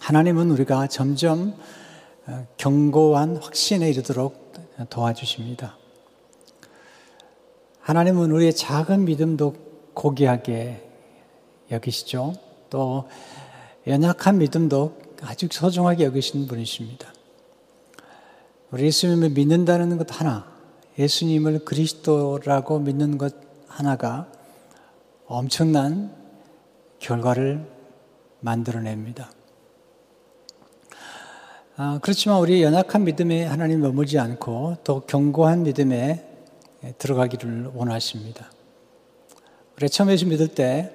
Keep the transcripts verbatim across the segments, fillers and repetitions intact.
하나님은 우리가 점점 견고한 확신에 이르도록 도와주십니다. 하나님은 우리의 작은 믿음도 고귀하게 여기시죠. 또 연약한 믿음도 아주 소중하게 여기시는 분이십니다. 우리 예수님을 믿는다는 것 하나, 예수님을 그리스도라고 믿는 것 하나가 엄청난 결과를 만들어냅니다. 아, 그렇지만 우리 연약한 믿음에 하나님 머물지 않고 더 견고한 믿음에 들어가기를 원하십니다. 우리 처음 예수 믿을 때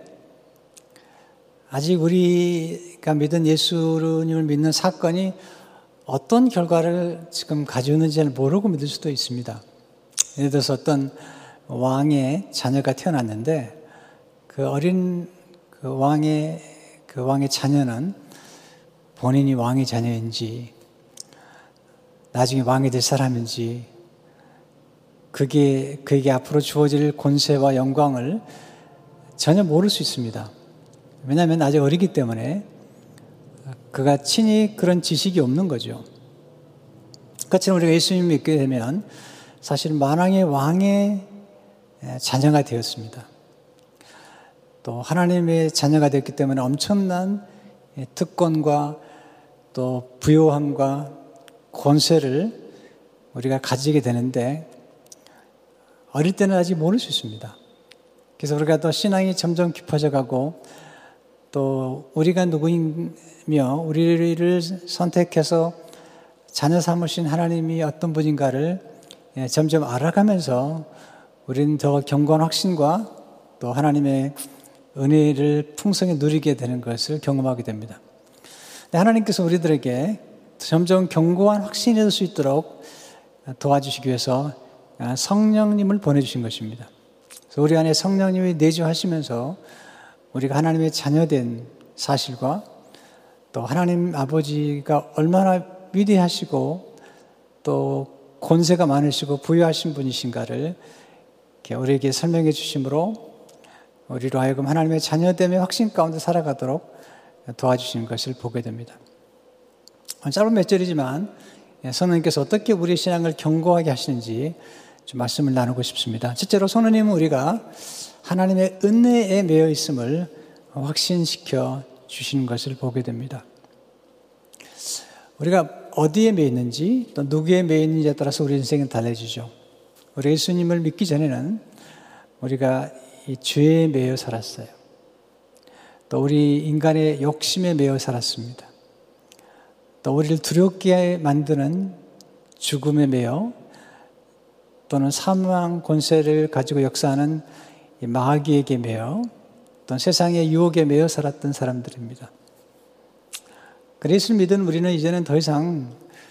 아직 우리가 믿은 예수님을 믿는 사건이 어떤 결과를 지금 가져오는지를 모르고 믿을 수도 있습니다. 예를 들어서 어떤 왕의 자녀가 태어났는데 그 어린 그 왕의 그 왕의 자녀는 본인이 왕의 자녀인지 나중에 왕이 될 사람인지 그게 그에게 앞으로 주어질 권세와 영광을 전혀 모를 수 있습니다. 왜냐하면 아직 어리기 때문에 그가 친히 그런 지식이 없는 거죠. 그처럼 우리가 예수님을 믿게 되면 사실 만왕의 왕의 자녀가 되었습니다. 또 하나님의 자녀가 됐기 때문에 엄청난 특권과 또 부요함과 권세를 우리가 가지게 되는데 어릴 때는 아직 모를 수 있습니다. 그래서 우리가 또 신앙이 점점 깊어져 가고 또 우리가 누구이며 우리를 선택해서 자녀 삼으신 하나님이 어떤 분인가를 점점 알아가면서 우리는 더 견고한 확신과 또 하나님의 은혜를 풍성히 누리게 되는 것을 경험하게 됩니다. 하나님께서 우리들에게 점점 견고한 확신이 될 수 있도록 도와주시기 위해서 성령님을 보내주신 것입니다. 그래서 우리 안에 성령님이 내주하시면서 우리가 하나님의 자녀된 사실과 또 하나님 아버지가 얼마나 위대하시고 또 권세가 많으시고 부유하신 분이신가를 우리에게 설명해 주심으로 우리로 하여금 하나님의 자녀됨의 확신 가운데 살아가도록 도와주시는 것을 보게 됩니다. 짧은 몇 절이지만 선생님께서 어떻게 우리의 신앙을 견고하게 하시는지 좀 말씀을 나누고 싶습니다. 첫째로 선생님은 우리가 하나님의 은혜에 매여 있음을 확신시켜 주시는 것을 보게 됩니다. 우리가 어디에 매여 있는지 또 누구에 매여 있는지에 따라서 우리 인생은 달라지죠. 우리 예수님을 믿기 전에는 우리가 이 죄에 매여 살았어요. 또 우리 인간의 욕심에 매여 살았습니다. 또 우리를 두렵게 만드는 죽음에 매여 또는 사망 권세를 가지고 역사하는 이 마귀에게 매여 또는 세상의 유혹에 매여 살았던 사람들입니다. 예수를 믿은 우리는 이제는 더 이상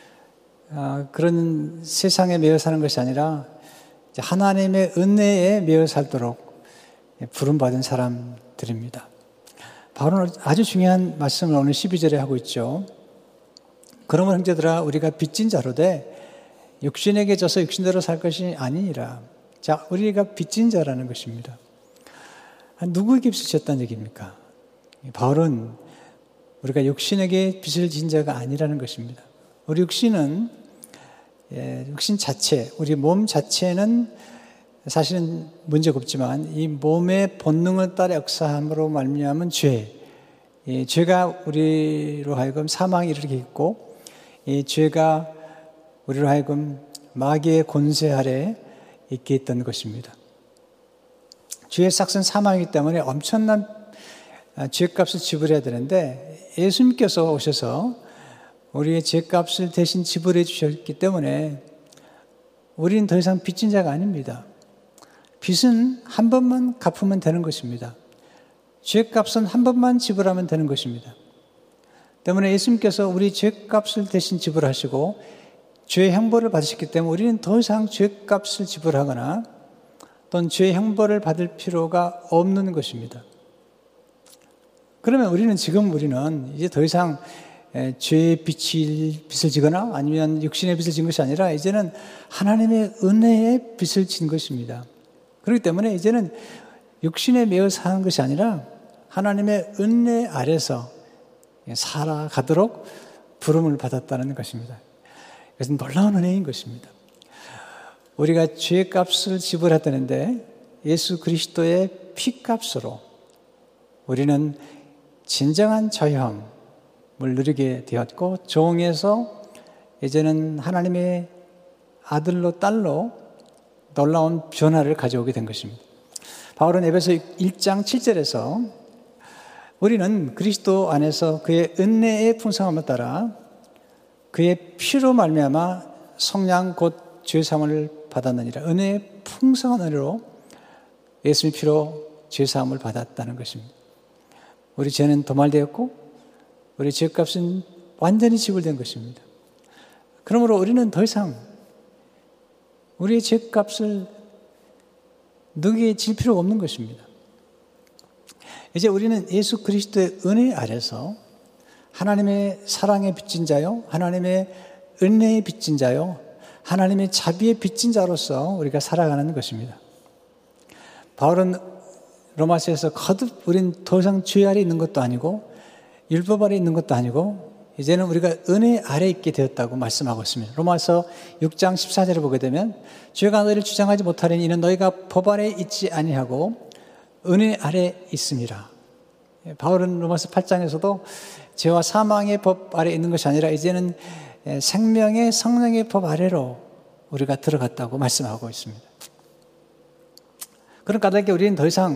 그런 세상에 매여 사는 것이 아니라 하나님의 은혜에 매여 살도록 부름받은 사람들입니다. 바울은 아주 중요한 말씀을 오늘 십이 절에 하고 있죠. 그러면 형제들아 우리가 빚진 자로되 육신에게 져서 육신대로 살 것이 아니니라. 자, 우리가 빚진 자라는 것입니다. 누구에게 빚을 졌다는 얘기입니까? 바울은 우리가 육신에게 빚을 진 자가 아니라는 것입니다. 우리 육신은 예, 육신 자체, 우리 몸 자체는 사실은 문제가 없지만 이 몸의 본능을 따라 역사함으로 말미암은 죄, 이 죄가 우리로 하여금 사망에 이르게 했고 이 죄가 우리로 하여금 마귀의 권세 아래 있게 했던 것입니다. 죄의 삭은 사망이기 때문에 엄청난 죄값을 지불해야 되는데 예수님께서 오셔서 우리의 죄값을 대신 지불해 주셨기 때문에 우리는 더 이상 빚진 자가 아닙니다. 빚은 한 번만 갚으면 되는 것입니다. 죄값은 한 번만 지불하면 되는 것입니다. 때문에 예수님께서 우리 죄값을 대신 지불하시고 죄의 형벌을 받으셨기 때문에 우리는 더 이상 죄값을 지불하거나 또는 죄의 형벌을 받을 필요가 없는 것입니다. 그러면 우리는 지금 우리는 이제 더 이상 죄의 빚을, 빚을 지거나 아니면 육신의 빚을 진 것이 아니라 이제는 하나님의 은혜의 빚을 진 것입니다. 그렇기 때문에 이제는 육신에 매여 사는 것이 아니라 하나님의 은혜 아래서 살아가도록 부름을 받았다는 것입니다. 그래서 놀라운 은혜인 것입니다. 우리가 죄값을 지불하다는데 예수 그리스도의 피값으로 우리는 진정한 자유함을 누리게 되었고 종에서 이제는 하나님의 아들로 딸로 놀라운 변화를 가져오게 된 것입니다. 바울은 에베소 일 장 칠 절에서 우리는 그리스도 안에서 그의 은혜의 풍성함을 따라 그의 피로 말미암아 성량 곧 죄사함을 받았느니라. 은혜의 풍성한 은혜로 예수님의 피로 죄사함을 받았다는 것입니다. 우리 죄는 도말되었고 우리 죄값은 완전히 지불된 것입니다. 그러므로 우리는 더 이상 우리의 죄값을 누구에게 질 필요가 없는 것입니다. 이제 우리는 예수 그리스도의 은혜 아래서 하나님의 사랑의 빚진 자요, 하나님의 은혜의 빚진 자요, 하나님의 자비의 빚진 자로서 우리가 살아가는 것입니다. 바울은 로마서에서 거듭 우린 더 이상 죄 아래 있는 것도 아니고 율법 아래 있는 것도 아니고 이제는 우리가 은혜 아래 있게 되었다고 말씀하고 있습니다. 로마서 육 장 십사 절을 보게 되면 죄가 너희를 주장하지 못하리니 이는 너희가 법 아래 있지 아니하고 은혜 아래 있음이라. 바울은 로마서 팔 장에서도 죄와 사망의 법 아래 있는 것이 아니라 이제는 생명의 성령의 법 아래로 우리가 들어갔다고 말씀하고 있습니다. 그런 까닭에 우리는 더 이상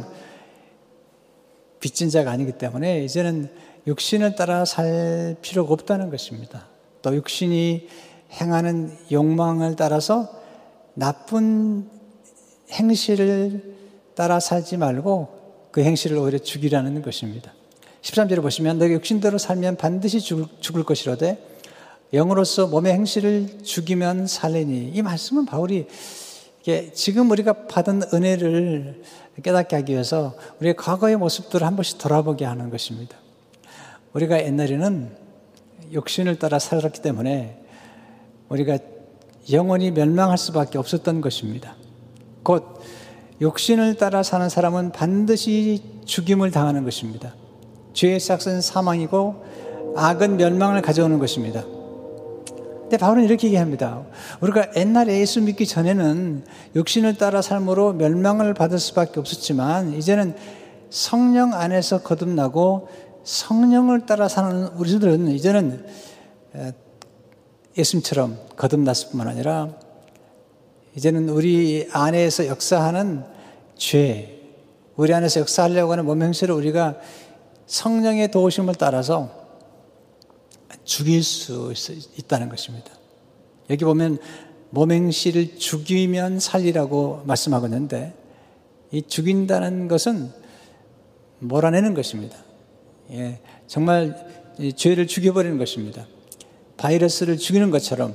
빚진 자가 아니기 때문에 이제는 육신을 따라 살 필요가 없다는 것입니다. 또 육신이 행하는 욕망을 따라서 나쁜 행실을 따라 살지 말고 그 행실을 오히려 죽이라는 것입니다. 십삼 절에 보시면 너희 육신대로 살면 반드시 죽을, 죽을 것이로되 영으로서 몸의 행실을 죽이면 살리니. 이 말씀은 바울이 이게 지금 우리가 받은 은혜를 깨닫게 하기 위해서 우리의 과거의 모습들을 한 번씩 돌아보게 하는 것입니다. 우리가 옛날에는 육신을 따라 살았기 때문에 우리가 영원히 멸망할 수밖에 없었던 것입니다. 곧 육신을 따라 사는 사람은 반드시 죽임을 당하는 것입니다. 죄의 싹은 사망이고 악은 멸망을 가져오는 것입니다. 근데 바울은 이렇게 얘기합니다. 우리가 옛날에 예수 믿기 전에는 육신을 따라 삶으로 멸망을 받을 수밖에 없었지만 이제는 성령 안에서 거듭나고 성령을 따라 사는 우리들은 이제는 예수님처럼 거듭났을 뿐만 아니라 이제는 우리 안에서 역사하는 죄, 우리 안에서 역사하려고 하는 몸 행실을 우리가 성령의 도우심을 따라서 죽일 수 있다는 것입니다. 여기 보면 몸 행실을 죽이면 살리라고 말씀하고 있는데 이 죽인다는 것은 몰아내는 것입니다. 예, 정말 이 죄를 죽여버리는 것입니다. 바이러스를 죽이는 것처럼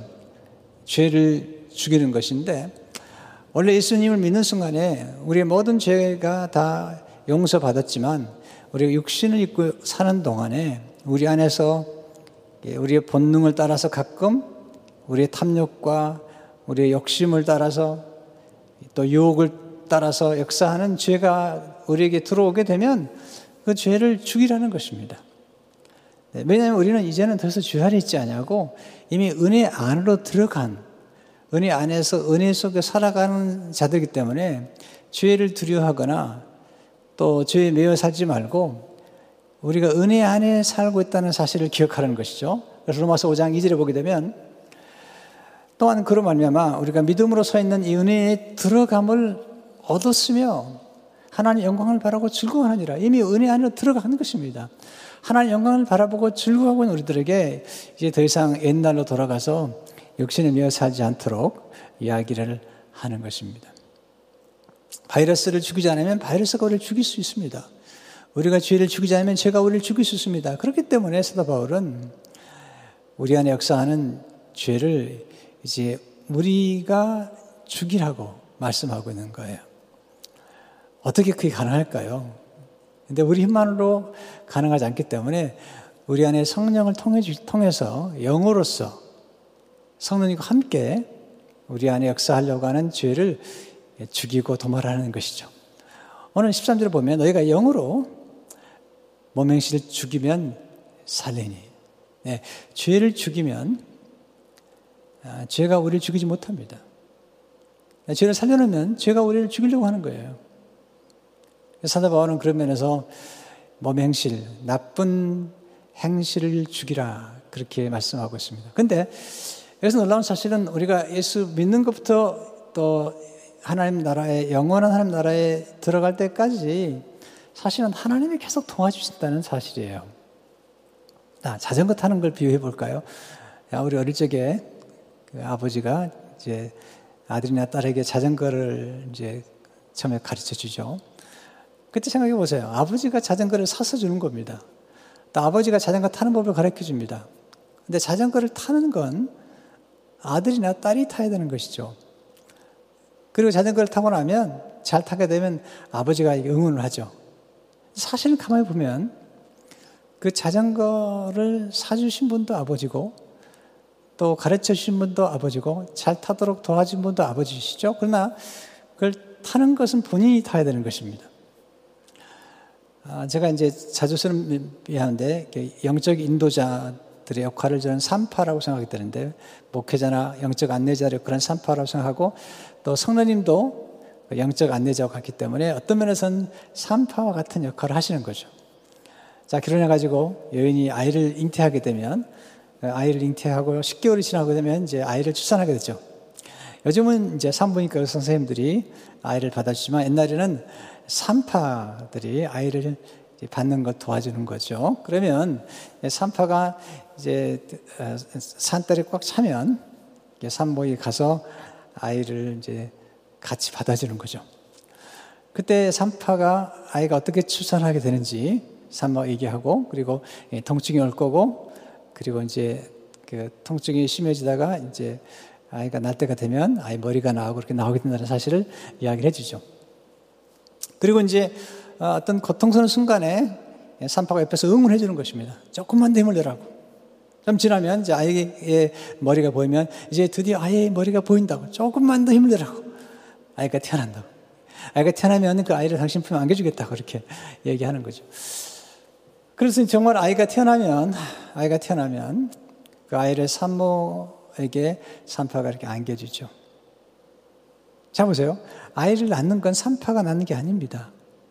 죄를 죽이는 것인데 원래 예수님을 믿는 순간에 우리의 모든 죄가 다 용서받았지만 우리가 육신을 입고 사는 동안에 우리 안에서 우리의 본능을 따라서 가끔 우리의 탐욕과 우리의 욕심을 따라서 또 유혹을 따라서 역사하는 죄가 우리에게 들어오게 되면 그 죄를 죽이라는 것입니다. 왜냐하면 우리는 이제는 더 이상 죄 아래 있지 않냐고 이미 은혜 안으로 들어간 은혜 안에서 은혜 속에 살아가는 자들이기 때문에 죄를 두려워하거나 또 죄에 매여 살지 말고 우리가 은혜 안에 살고 있다는 사실을 기억하라는 것이죠. 그래서 로마서 오 장 이 절에 보게 되면 또한 그로 말미암아 우리가 믿음으로 서 있는 이 은혜에 들어감을 얻었으며 하나님 영광을 바라고 즐거워하느니라. 이미 은혜 안으로 들어가는 것입니다. 하나님 영광을 바라보고 즐거워하고 있는 우리들에게 이제 더 이상 옛날로 돌아가서 육신에 매여 살지 않도록 이야기를 하는 것입니다. 바이러스를 죽이지 않으면 바이러스가 우리를 죽일 수 있습니다. 우리가 죄를 죽이지 않으면 죄가 우리를 죽일 수 있습니다. 그렇기 때문에 사도 바울은 우리 안에 역사하는 죄를 이제 우리가 죽이라고 말씀하고 있는 거예요. 어떻게 그게 가능할까요? 근데 우리 힘만으로 가능하지 않기 때문에 우리 안에 성령을 통해서 영으로서 성령님과 함께 우리 안에 역사하려고 하는 죄를 죽이고 도말하는 것이죠. 오늘 십삼 절에 보면 너희가 영으로 몸 행실을 죽이면 살리니. 네, 죄를 죽이면 아, 죄가 우리를 죽이지 못합니다. 네, 죄를 살려놓으면 죄가 우리를 죽이려고 하는 거예요. 사도 바울은 그런 면에서 몸의 행실, 나쁜 행실을 죽이라 그렇게 말씀하고 있습니다. 그런데 여기서 놀라운 사실은 우리가 예수 믿는 것부터 또 하나님 나라에, 영원한 하나님 나라에 들어갈 때까지 사실은 하나님이 계속 도와주신다는 사실이에요. 자, 자전거 타는 걸 비유해 볼까요? 우리 어릴 적에 그 아버지가 이제 아들이나 딸에게 자전거를 이제 처음에 가르쳐 주죠. 그때 생각해 보세요. 아버지가 자전거를 사서 주는 겁니다. 또 아버지가 자전거 타는 법을 가르쳐 줍니다. 근데 자전거를 타는 건 아들이나 딸이 타야 되는 것이죠. 그리고 자전거를 타고 나면 잘 타게 되면 아버지가 응원을 하죠. 사실은 가만히 보면 그 자전거를 사주신 분도 아버지고 또 가르쳐 주신 분도 아버지고 잘 타도록 도와준 분도 아버지시죠. 그러나 그걸 타는 것은 본인이 타야 되는 것입니다. 아, 제가 이제 자주 쓰는 비하는데 영적 인도자들의 역할을 저는 삼파라고 생각이 되는데 목회자나 영적 안내자의 역할은 삼파라고 생각하고 또 성도님도 영적 안내자와 같기 때문에 어떤 면에서는 삼파와 같은 역할을 하시는 거죠. 자, 결혼해가지고 여인이 아이를 잉태하게 되면 아이를 잉태하고 십 개월이 지나게 되면 이제 아이를 출산하게 되죠. 요즘은 이제 산부인과 선생님들이 아이를 받아주지만 옛날에는 산파들이 아이를 받는 것 도와주는 거죠. 그러면 산파가 이제 산딸이 꽉 차면 산모에 가서 아이를 이제 같이 받아주는 거죠. 그때 산파가 아이가 어떻게 출산하게 되는지 산모가 얘기하고 그리고 통증이 올 거고 그리고 이제 그 통증이 심해지다가 이제 아이가 날 때가 되면 아이 머리가 나오고 그렇게 나오게 된다는 사실을 이야기를 해주죠. 그리고 이제 어떤 고통스러운 순간에 산파가 옆에서 응원해 주는 것입니다. 조금만 더 힘을 내라고. 좀 지나면 이제 아이의 머리가 보이면 이제 드디어 아이의 머리가 보인다고. 조금만 더 힘을 내라고. 아이가 태어난다고. 아이가 태어나면 그 아이를 당신 품에 안겨주겠다고 그렇게 얘기하는 거죠. 그래서 정말 아이가 태어나면 아이가 태어나면 그 아이를 산모에게 산파가 이렇게 안겨주죠. 자 보세요. 아이를 낳는 건 산파가 낳는 게 아닙니다.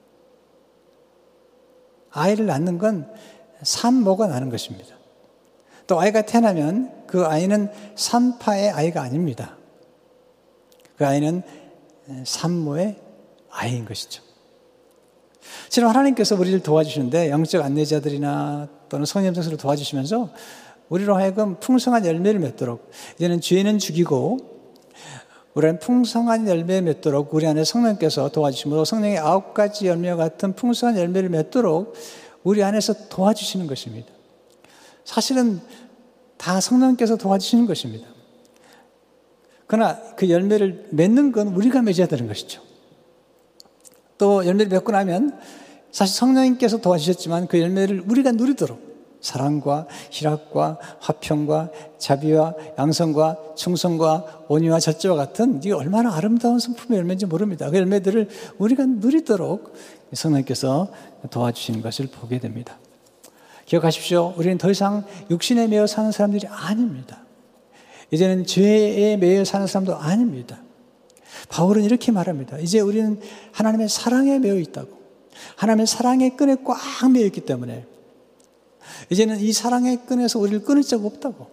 아이를 낳는 건 산모가 낳는 것입니다. 또 아이가 태어나면 그 아이는 산파의 아이가 아닙니다. 그 아이는 산모의 아이인 것이죠. 지금 하나님께서 우리를 도와주시는데 영적 안내자들이나 또는 성령님들을 도와주시면서 우리로 하여금 풍성한 열매를 맺도록 이제는 죄는 죽이고 우리는 풍성한 열매를 맺도록 우리 안에 성령께서 도와주심으로 성령의 아홉 가지 열매와 같은 풍성한 열매를 맺도록 우리 안에서 도와주시는 것입니다. 사실은 다 성령께서 도와주시는 것입니다. 그러나 그 열매를 맺는 건 우리가 맺어야 되는 것이죠. 또 열매를 맺고 나면 사실 성령님께서 도와주셨지만 그 열매를 우리가 누리도록 사랑과 희락과 화평과 자비와 양성과 충성과 온유와 절제와 같은 이게 얼마나 아름다운 성품의 열매인지 모릅니다. 그 열매들을 우리가 누리도록 성령님께서 도와주시는 것을 보게 됩니다. 기억하십시오. 우리는 더 이상 육신에 매여 사는 사람들이 아닙니다. 이제는 죄에 매여 사는 사람도 아닙니다. 바울은 이렇게 말합니다. 이제 우리는 하나님의 사랑에 매여 있다고. 하나님의 사랑의 끈에 꽉 매여 있기 때문에 이제는 이 사랑의 끈에서 우리를 끊을 자가 없다고.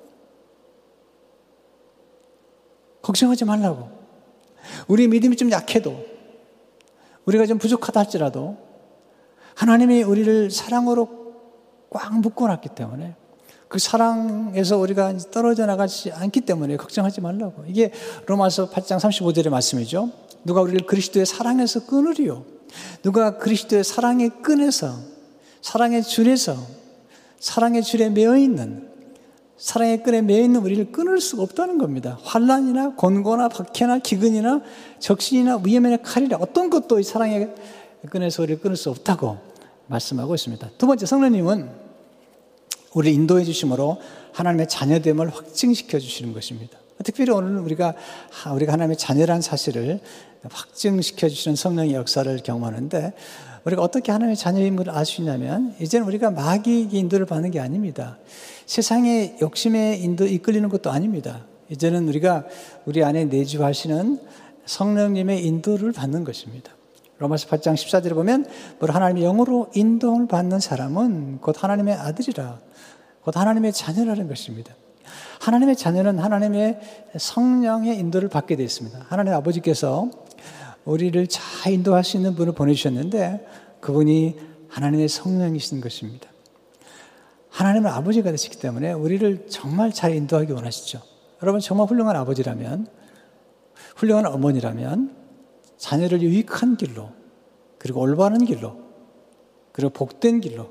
걱정하지 말라고. 우리 믿음이 좀 약해도 우리가 좀 부족하다 할지라도 하나님이 우리를 사랑으로 꽉 묶어놨기 때문에 그 사랑에서 우리가 떨어져 나가지 않기 때문에 걱정하지 말라고. 이게 로마서 팔 장 삼십오 절의 말씀이죠. 누가 우리를 그리스도의 사랑에서 끊으리요. 누가 그리스도의 사랑의 끈에서 사랑의 줄에서 사랑의 줄에 매어있는 사랑의 끈에 매어있는 우리를 끊을 수가 없다는 겁니다. 환난이나 곤고나 박해나 기근이나 적신이나 위험이나 칼이나 어떤 것도 이 사랑의 끈에서 우리를 끊을 수 없다고 말씀하고 있습니다. 두 번째, 성령님은 우리를 인도해 주심으로 하나님의 자녀됨을 확증시켜 주시는 것입니다. 특별히 오늘 우리가 우리가 하나님의 자녀라는 사실을 확증시켜 주시는 성령의 역사를 경험하는데 우리가 어떻게 하나님의 자녀임을 알 수 있냐면 이제는 우리가 마귀의 인도를 받는 게 아닙니다. 세상의 욕심에 인도 이끌리는 것도 아닙니다. 이제는 우리가 우리 안에 내주하시는 성령님의 인도를 받는 것입니다. 로마서 팔 장 십사 절에 보면 하나님의 영으로 인도를 받는 사람은 곧 하나님의 아들이라, 곧 하나님의 자녀라는 것입니다. 하나님의 자녀는 하나님의 성령의 인도를 받게 되어 있습니다. 하나님의 아버지께서 우리를 잘 인도하시는 분을 보내주셨는데 그분이 하나님의 성령이신 것입니다. 하나님은 아버지가 되시기 때문에 우리를 정말 잘 인도하기 원하시죠. 여러분 정말 훌륭한 아버지라면, 훌륭한 어머니라면 자녀를 유익한 길로, 그리고 올바른 길로, 그리고 복된 길로,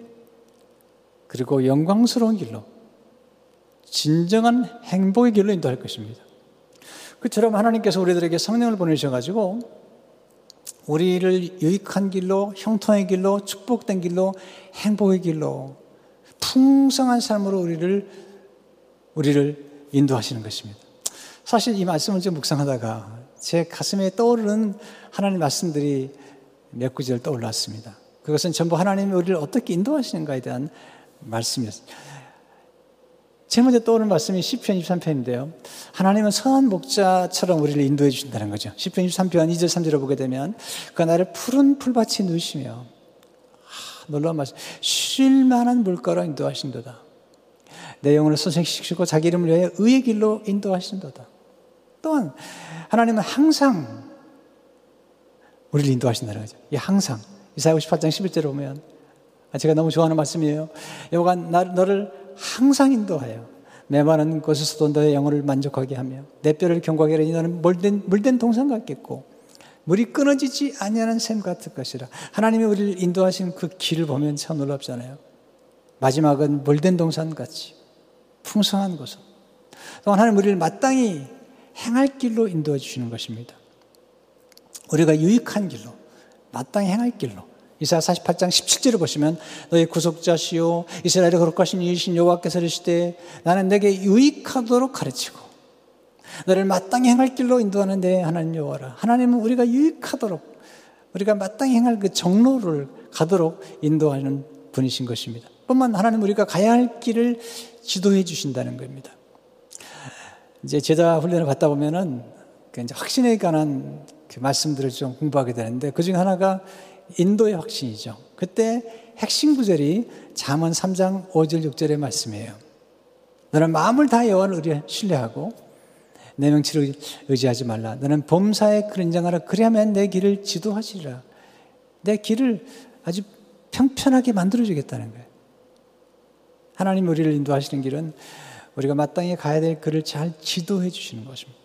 그리고 영광스러운 길로, 진정한 행복의 길로 인도할 것입니다. 그처럼 하나님께서 우리들에게 성령을 보내주셔가지고 우리를 유익한 길로, 형통의 길로, 축복된 길로, 행복의 길로, 풍성한 삶으로 우리를 우리를 인도하시는 것입니다. 사실 이 말씀을 좀 묵상하다가 제 가슴에 떠오르는 하나님 말씀들이 몇 구절 떠올랐습니다. 그것은 전부 하나님이 우리를 어떻게 인도하시는가에 대한 말씀이었습니다. 제일 먼저 떠오르는 말씀이 시편 이십삼 편인데요. 하나님은 선한 목자처럼 우리를 인도해 주신다는 거죠. 시편 이십삼 편 이 절 삼 절을 보게 되면 그가 나를 푸른 풀밭에 누시며, 아, 놀라운 말씀, 쉴 만한 물가로 인도하신도다. 내 영혼을 소생시키시고 자기 이름을 위하여 의의 길로 인도하신도다. 또한 하나님은 항상 우리를 인도하신다는 거죠. 이 항상. 이사야 오십팔 장 십일 절을 보면, 제가 너무 좋아하는 말씀이에요. 여호와가 너를 항상 인도하여 메마른 곳에서도 너의 영혼을 만족하게 하며 내 뼈를 경고하게 하리니 너는 물된, 물된 동산 같겠고 물이 끊어지지 아니하는 샘 같을 것이라. 하나님이 우리를 인도하신 그 길을 보면 참 놀랍잖아요. 마지막은 물된 동산같이 풍성한 곳으로, 또한 하나님 우리를 마땅히 행할 길로 인도해 주시는 것입니다. 우리가 유익한 길로, 마땅히 행할 길로. 이사야 사십팔 장 십칠 절을 보시면 너의 구속자시요 이스라엘의 거룩하신 이이신 여호와께서 이르시되 나는 내게 유익하도록 가르치고 너를 마땅히 행할 길로 인도하는 내 하나님 여호와라. 하나님은 우리가 유익하도록, 우리가 마땅히 행할 그 정로를 가도록 인도하는 분이신 것입니다. 뿐만 하나님 우리가 가야 할 길을 지도해 주신다는 겁니다. 이제 제자 훈련을 받다 보면은 이제 확신에 관한 그 말씀들을 좀 공부하게 되는데 그 중에 하나가 인도의 확신이죠. 그때 핵심 구절이 잠언 삼 장 오 절 육 절의 말씀이에요. 너는 마음을 다해 여호와를 신뢰하고 내 명치를 의지하지 말라. 너는 범사에 그런장하라. 그리하면 내 길을 지도하시리라. 내 길을 아주 평편하게 만들어주겠다는 거예요. 하나님 우리를 인도하시는 길은 우리가 마땅히 가야 될 길을 잘 지도해 주시는 것입니다.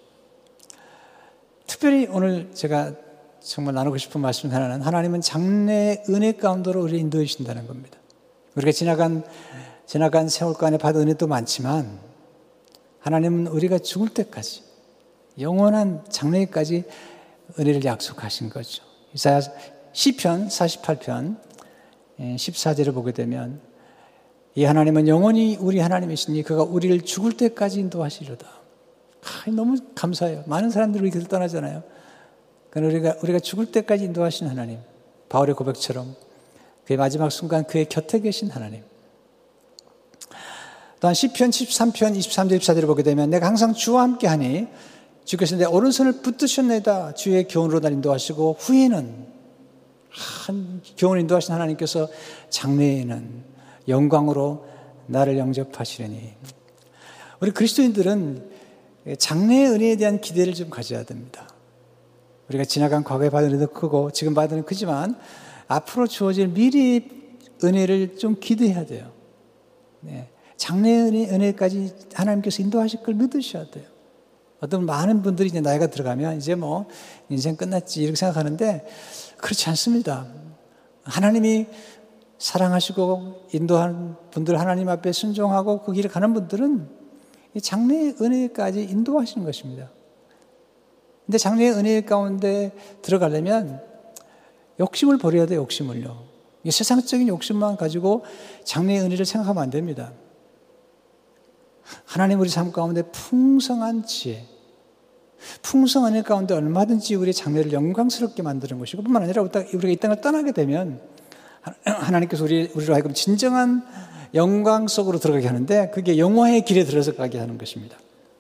특별히 오늘 제가 정말 나누고 싶은 말씀 하나는 하나님은 장래의 은혜 가운데로 우리를 인도해 주신다는 겁니다. 우리가 지나간, 지나간 세월과 안에 받은 은혜도 많지만 하나님은 우리가 죽을 때까지 영원한 장래까지 은혜를 약속하신 거죠. 이사야 시편 사십팔 편 십사 절을 보게 되면 이 하나님은 영원히 우리 하나님이시니 그가 우리를 죽을 때까지 인도하시리로다. 아, 너무 감사해요. 많은 사람들이 우리 곁을 떠나잖아요. 그러니까 우리가, 우리가 죽을 때까지 인도하신 하나님, 바울의 고백처럼 그의 마지막 순간 그의 곁에 계신 하나님. 또한 시편 칠십삼 편 이십삼 절 이십사 절을 보게 되면 내가 항상 주와 함께하니 주께서 내 오른손을 붙드셨나이다. 주의 교훈으로 날 인도하시고 후에는 한 교훈을 인도하신 하나님께서 장래에는 영광으로 나를 영접하시려니. 우리 그리스도인들은 장래의 은혜에 대한 기대를 좀 가져야 됩니다. 우리가 지나간 과거에 받은 은혜도 크고 지금 받은 은혜도 크지만 앞으로 주어질 미래의 은혜를 좀 기대해야 돼요. 네. 장래의 은혜, 은혜까지 하나님께서 인도하실 걸 믿으셔야 돼요. 어떤 많은 분들이 이제 나이가 들어가면 이제 뭐 인생 끝났지 이렇게 생각하는데 그렇지 않습니다. 하나님이 사랑하시고 인도하는 분들, 하나님 앞에 순종하고 그 길을 가는 분들은 이 장래의 은혜까지 인도하시는 것입니다. 근데 장래의 은혜 가운데 들어가려면 욕심을 버려야 돼요. 욕심을요. 세상적인 욕심만 가지고 장래의 은혜를 생각하면 안 됩니다. 하나님 우리 삶 가운데 풍성한 지혜, 풍성한 은혜 가운데 얼마든지 우리 장래를 영광스럽게 만드는 것이고 뿐만 아니라 우리가 이 땅을 떠나게 되면 하나님께서 우리, 우리로 하여금 진정한 영광 속으로 들어가게 하는데 그게 영화의 길에 들어서 가게 하는 것입니다.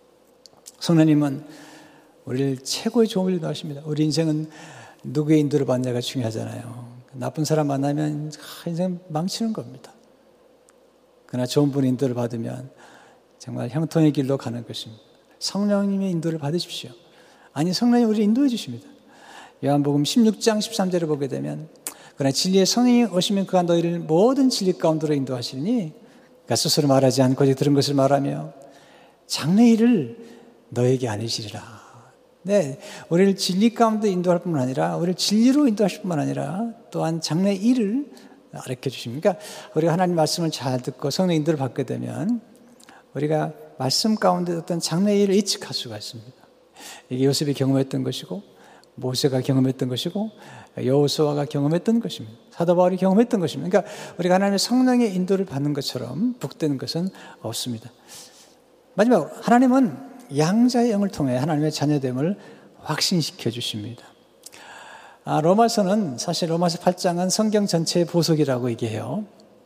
성령님은 우리를 최고의 좋은 일도 하십니다. 우리 인생은 누구의 인도를 받느냐가 중요하잖아요. 나쁜 사람 만나면 인생 망치는 겁니다. 그러나 좋은 분의 인도를 받으면 정말 형통의 길로 가는 것입니다. 성령님의 인도를 받으십시오. 아니, 성령이 우리를 인도해 주십니다. 요한복음 십육 장 십삼 절을 보게 되면 그러나 진리의 성령이 오시면 그가 너희를 모든 진리 가운데로 인도하시니 그가 스스로 말하지 않고 이제 들은 것을 말하며 장래일을 너에게 알리시리라. 네, 우리를 진리 가운데 인도할 뿐만 아니라 우리를 진리로 인도하실 뿐만 아니라 또한 장래일을 가르쳐 주십니까? 우리가 하나님 말씀을 잘 듣고 성령 인도를 받게 되면 우리가 말씀 가운데 어떤 장래일을 예측할 수가 있습니다. 이게 요셉이 경험했던 것이고 모세가 경험했던 것이고 여호수아가 경험했던 것입니다. 사도 바울이 경험했던 것입니다. 그러니까 우리가 하나님의 성령의 인도를 받는 것처럼 북되는 것은 없습니다. 마지막으로 하나님은 양자의 영을 통해 하나님의 자녀됨을 확신시켜 주십니다. 아, 로마서는 사실 로마서 팔 장은 성경 전체의 보석이라고 얘기해요.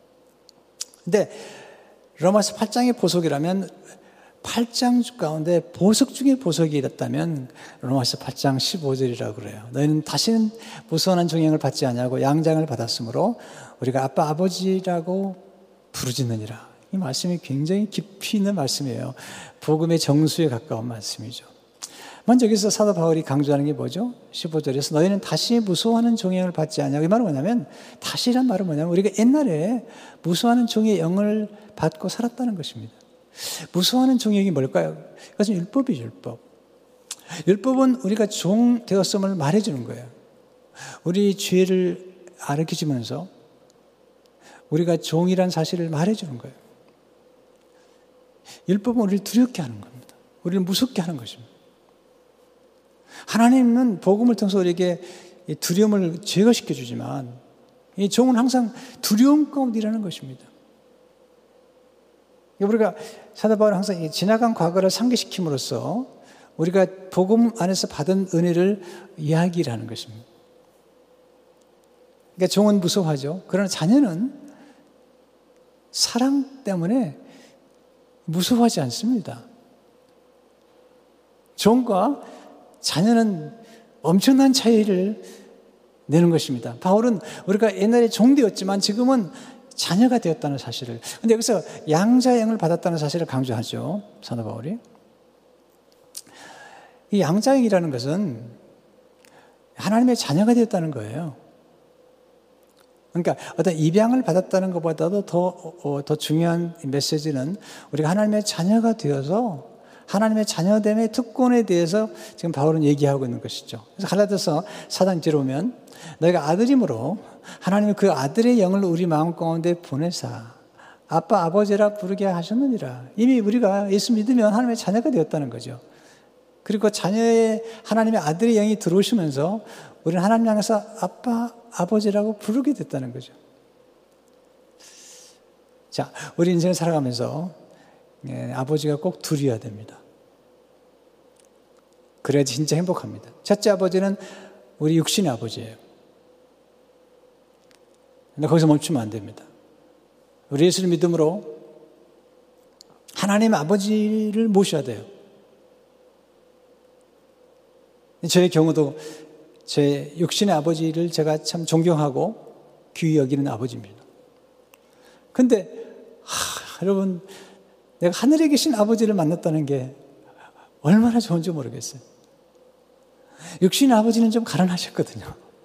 근데 로마서 팔 장의 보석이라면 팔 장 가운데 보석 중에 보석이 있다면 로마서 팔 장 십오 절이라고 그래요. 너희는 다시는 무수한 종행을 받지 아니하고 양장을 받았으므로 우리가 아빠 아버지라고 부르짖느니라. 이 말씀이 굉장히 깊이 있는 말씀이에요. 복음의 정수에 가까운 말씀이죠. 먼저 여기서 사도 바울이 강조하는 게 뭐죠? 십오 절에서 너희는 다시 무수하는 종행을 받지 아니하고, 이 말은 뭐냐면, 다시란 말은 뭐냐면 우리가 옛날에 무수하는 종의 영을 받고 살았다는 것입니다. 무수하는 종이 뭘까요? 그것은 율법이죠, 율법. 율법은 우리가 종 되었음을 말해주는 거예요. 우리 죄를 가르쳐주면서 우리가 종이란 사실을 말해주는 거예요. 율법은 우리를 두렵게 하는 겁니다. 우리를 무섭게 하는 것입니다. 하나님은 복음을 통해서 우리에게 두려움을 제거시켜 주지만 이 종은 항상 두려움 가운데 일하는 것입니다. 우리가 사도 바울은 항상 지나간 과거를 상기시킴으로써 우리가 복음 안에서 받은 은혜를 이야기를 하는 것입니다. 그러니까 종은 무서워하죠. 그러나 자녀는 사랑 때문에 무서워하지 않습니다. 종과 자녀는 엄청난 차이를 내는 것입니다. 바울은 우리가 옛날에 종되었지만 지금은 자녀가 되었다는 사실을, 근데 여기서 양자의 영을 받았다는 사실을 강조하죠, 사도 바울이. 이 양자의 영이라는 것은 하나님의 자녀가 되었다는 거예요. 그러니까 어떤 입양을 받았다는 것보다도 더, 어, 더 중요한 메시지는 우리가 하나님의 자녀가 되어서 하나님의 자녀됨의 특권에 대해서 지금 바울은 얘기하고 있는 것이죠. 그래서 갈라디아서 사 장 뒤로 오면 너희가 아들이므로 하나님이 그 아들의 영을 우리 마음 가운데 보내사 아빠 아버지라 부르게 하셨느니라. 이미 우리가 예수 믿으면 하나님의 자녀가 되었다는 거죠. 그리고 자녀의 하나님의 아들의 영이 들어오시면서 우리는 하나님 향해서 아빠 아버지라고 부르게 됐다는 거죠. 자, 우리 인생을 살아가면서 예, 아버지가 꼭 둘이어야 됩니다. 그래야지 진짜 행복합니다. 첫째 아버지는 우리 육신의 아버지예요. 근데 거기서 멈추면 안 됩니다. 우리 예수를 믿음으로 하나님 아버지를 모셔야 돼요. 저의 경우도 제 육신의 아버지를 제가 참 존경하고 귀히 여기는 아버지입니다. 근데 하, 여러분, 내가 하늘에 계신 아버지를 만났다는 게 얼마나 좋은지 모르겠어요. 육신의 아버지는 좀 가난하셨거든요.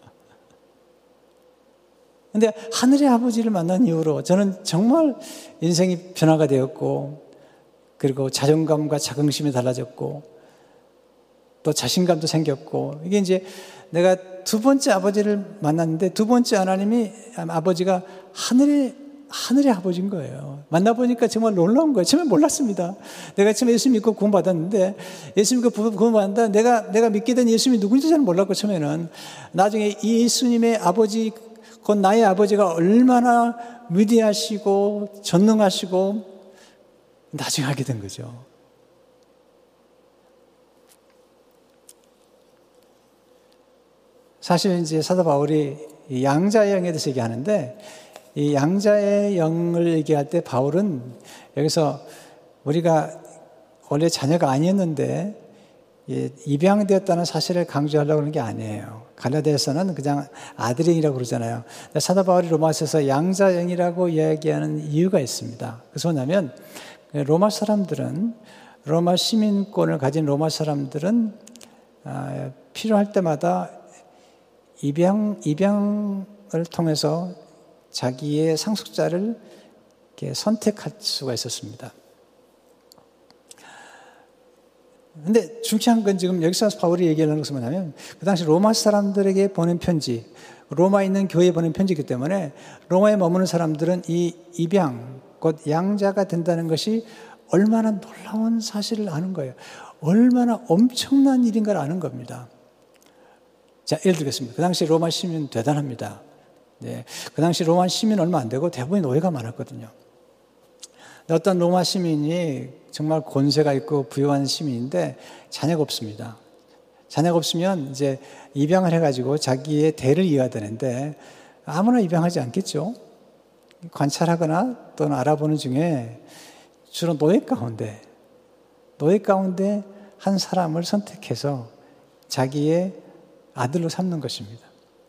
근데 하늘의 아버지를 만난 이후로 저는 정말 인생이 변화가 되었고, 그리고 자존감과 자긍심이 달라졌고, 또 자신감도 생겼고, 이게 이제 내가 두 번째 아버지를 만났는데 두 번째 하나님이, 아버지가 하늘의 하늘의 아버지인 거예요. 만나보니까 정말 놀라운 거예요. 처음에 몰랐습니다. 내가 처음에 예수 믿고 구원받았는데, 예수 믿고 구원받았는데, 내가, 내가 믿게 된 예수님이 누군지 잘 몰랐고, 처음에는. 나중에 예수님의 아버지, 곧 나의 아버지가 얼마나 위대하시고, 전능하시고, 나중에 알게 된 거죠. 사실 이제 사도 바울이 이 양자의 영에 대해서 얘기하는데, 이 양자의 영을 얘기할 때 바울은 여기서 우리가 원래 자녀가 아니었는데 입양되었다는 사실을 강조하려고 하는 게 아니에요. 갈라디아서는 그냥 아들영이라고 그러잖아요. 사도 바울이 로마서에서 양자영이라고 이야기하는 이유가 있습니다. 그래서 뭐냐면 로마 사람들은, 로마 시민권을 가진 로마 사람들은 필요할 때마다 입양, 입양을 통해서 자기의 상속자를 이렇게 선택할 수가 있었습니다. 근데 중요한 건 지금 여기서 바울이 얘기하는 것은 뭐냐면, 그 당시 로마 사람들에게 보낸 편지, 로마에 있는 교회에 보낸 편지이기 때문에 로마에 머무는 사람들은 이 입양, 곧 양자가 된다는 것이 얼마나 놀라운 사실을 아는 거예요. 얼마나 엄청난 일인가를 아는 겁니다. 자, 예를 들겠습니다. 그 당시 로마 시민 대단합니다. 네, 그 당시 로마 시민 얼마 안 되고 대부분 노예가 많았거든요. 어떤 로마 시민이 정말 권세가 있고 부유한 시민인데 자녀가 없습니다. 자녀가 없으면 이제 입양을 해가지고 자기의 대를 이어야 되는데 아무나 입양하지 않겠죠. 관찰하거나 또는 알아보는 중에 주로 노예 가운데, 노예 가운데 한 사람을 선택해서 자기의 아들로 삼는 것입니다.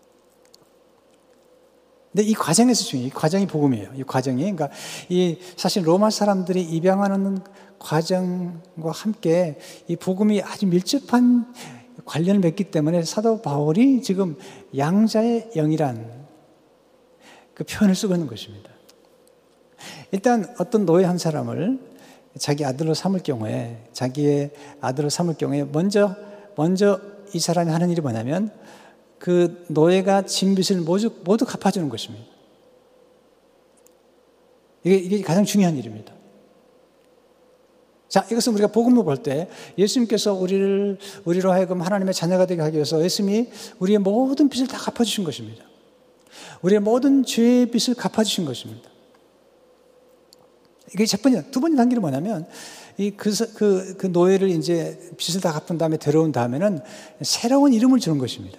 근데 이 과정에서 중요해요. 이 과정이 복음이에요. 이 과정이. 그러니까 이 사실 로마 사람들이 입양하는 과정과 함께 이 복음이 아주 밀접한 관련을 맺기 때문에 사도 바울이 지금 양자의 영이란 그 표현을 쓰고 있는 것입니다. 일단 어떤 노예 한 사람을 자기 아들로 삼을 경우에, 자기의 아들로 삼을 경우에 먼저, 먼저 이 사람이 하는 일이 뭐냐면 그 노예가 진 빚을 모두, 모두 갚아주는 것입니다. 이게, 이게 가장 중요한 일입니다. 자, 이것은 우리가 복음을 볼 때 예수님께서 우리를, 우리로 하여금 하나님의 자녀가 되게 하기 위해서 예수님이 우리의 모든 빚을 다 갚아주신 것입니다. 우리의 모든 죄의 빚을 갚아주신 것입니다. 이게 첫 번째, 두 번째 단계는 뭐냐면 이 그, 그, 그 노예를 이제 빚을 다 갚은 다음에 데려온 다음에는 새로운 이름을 주는 것입니다.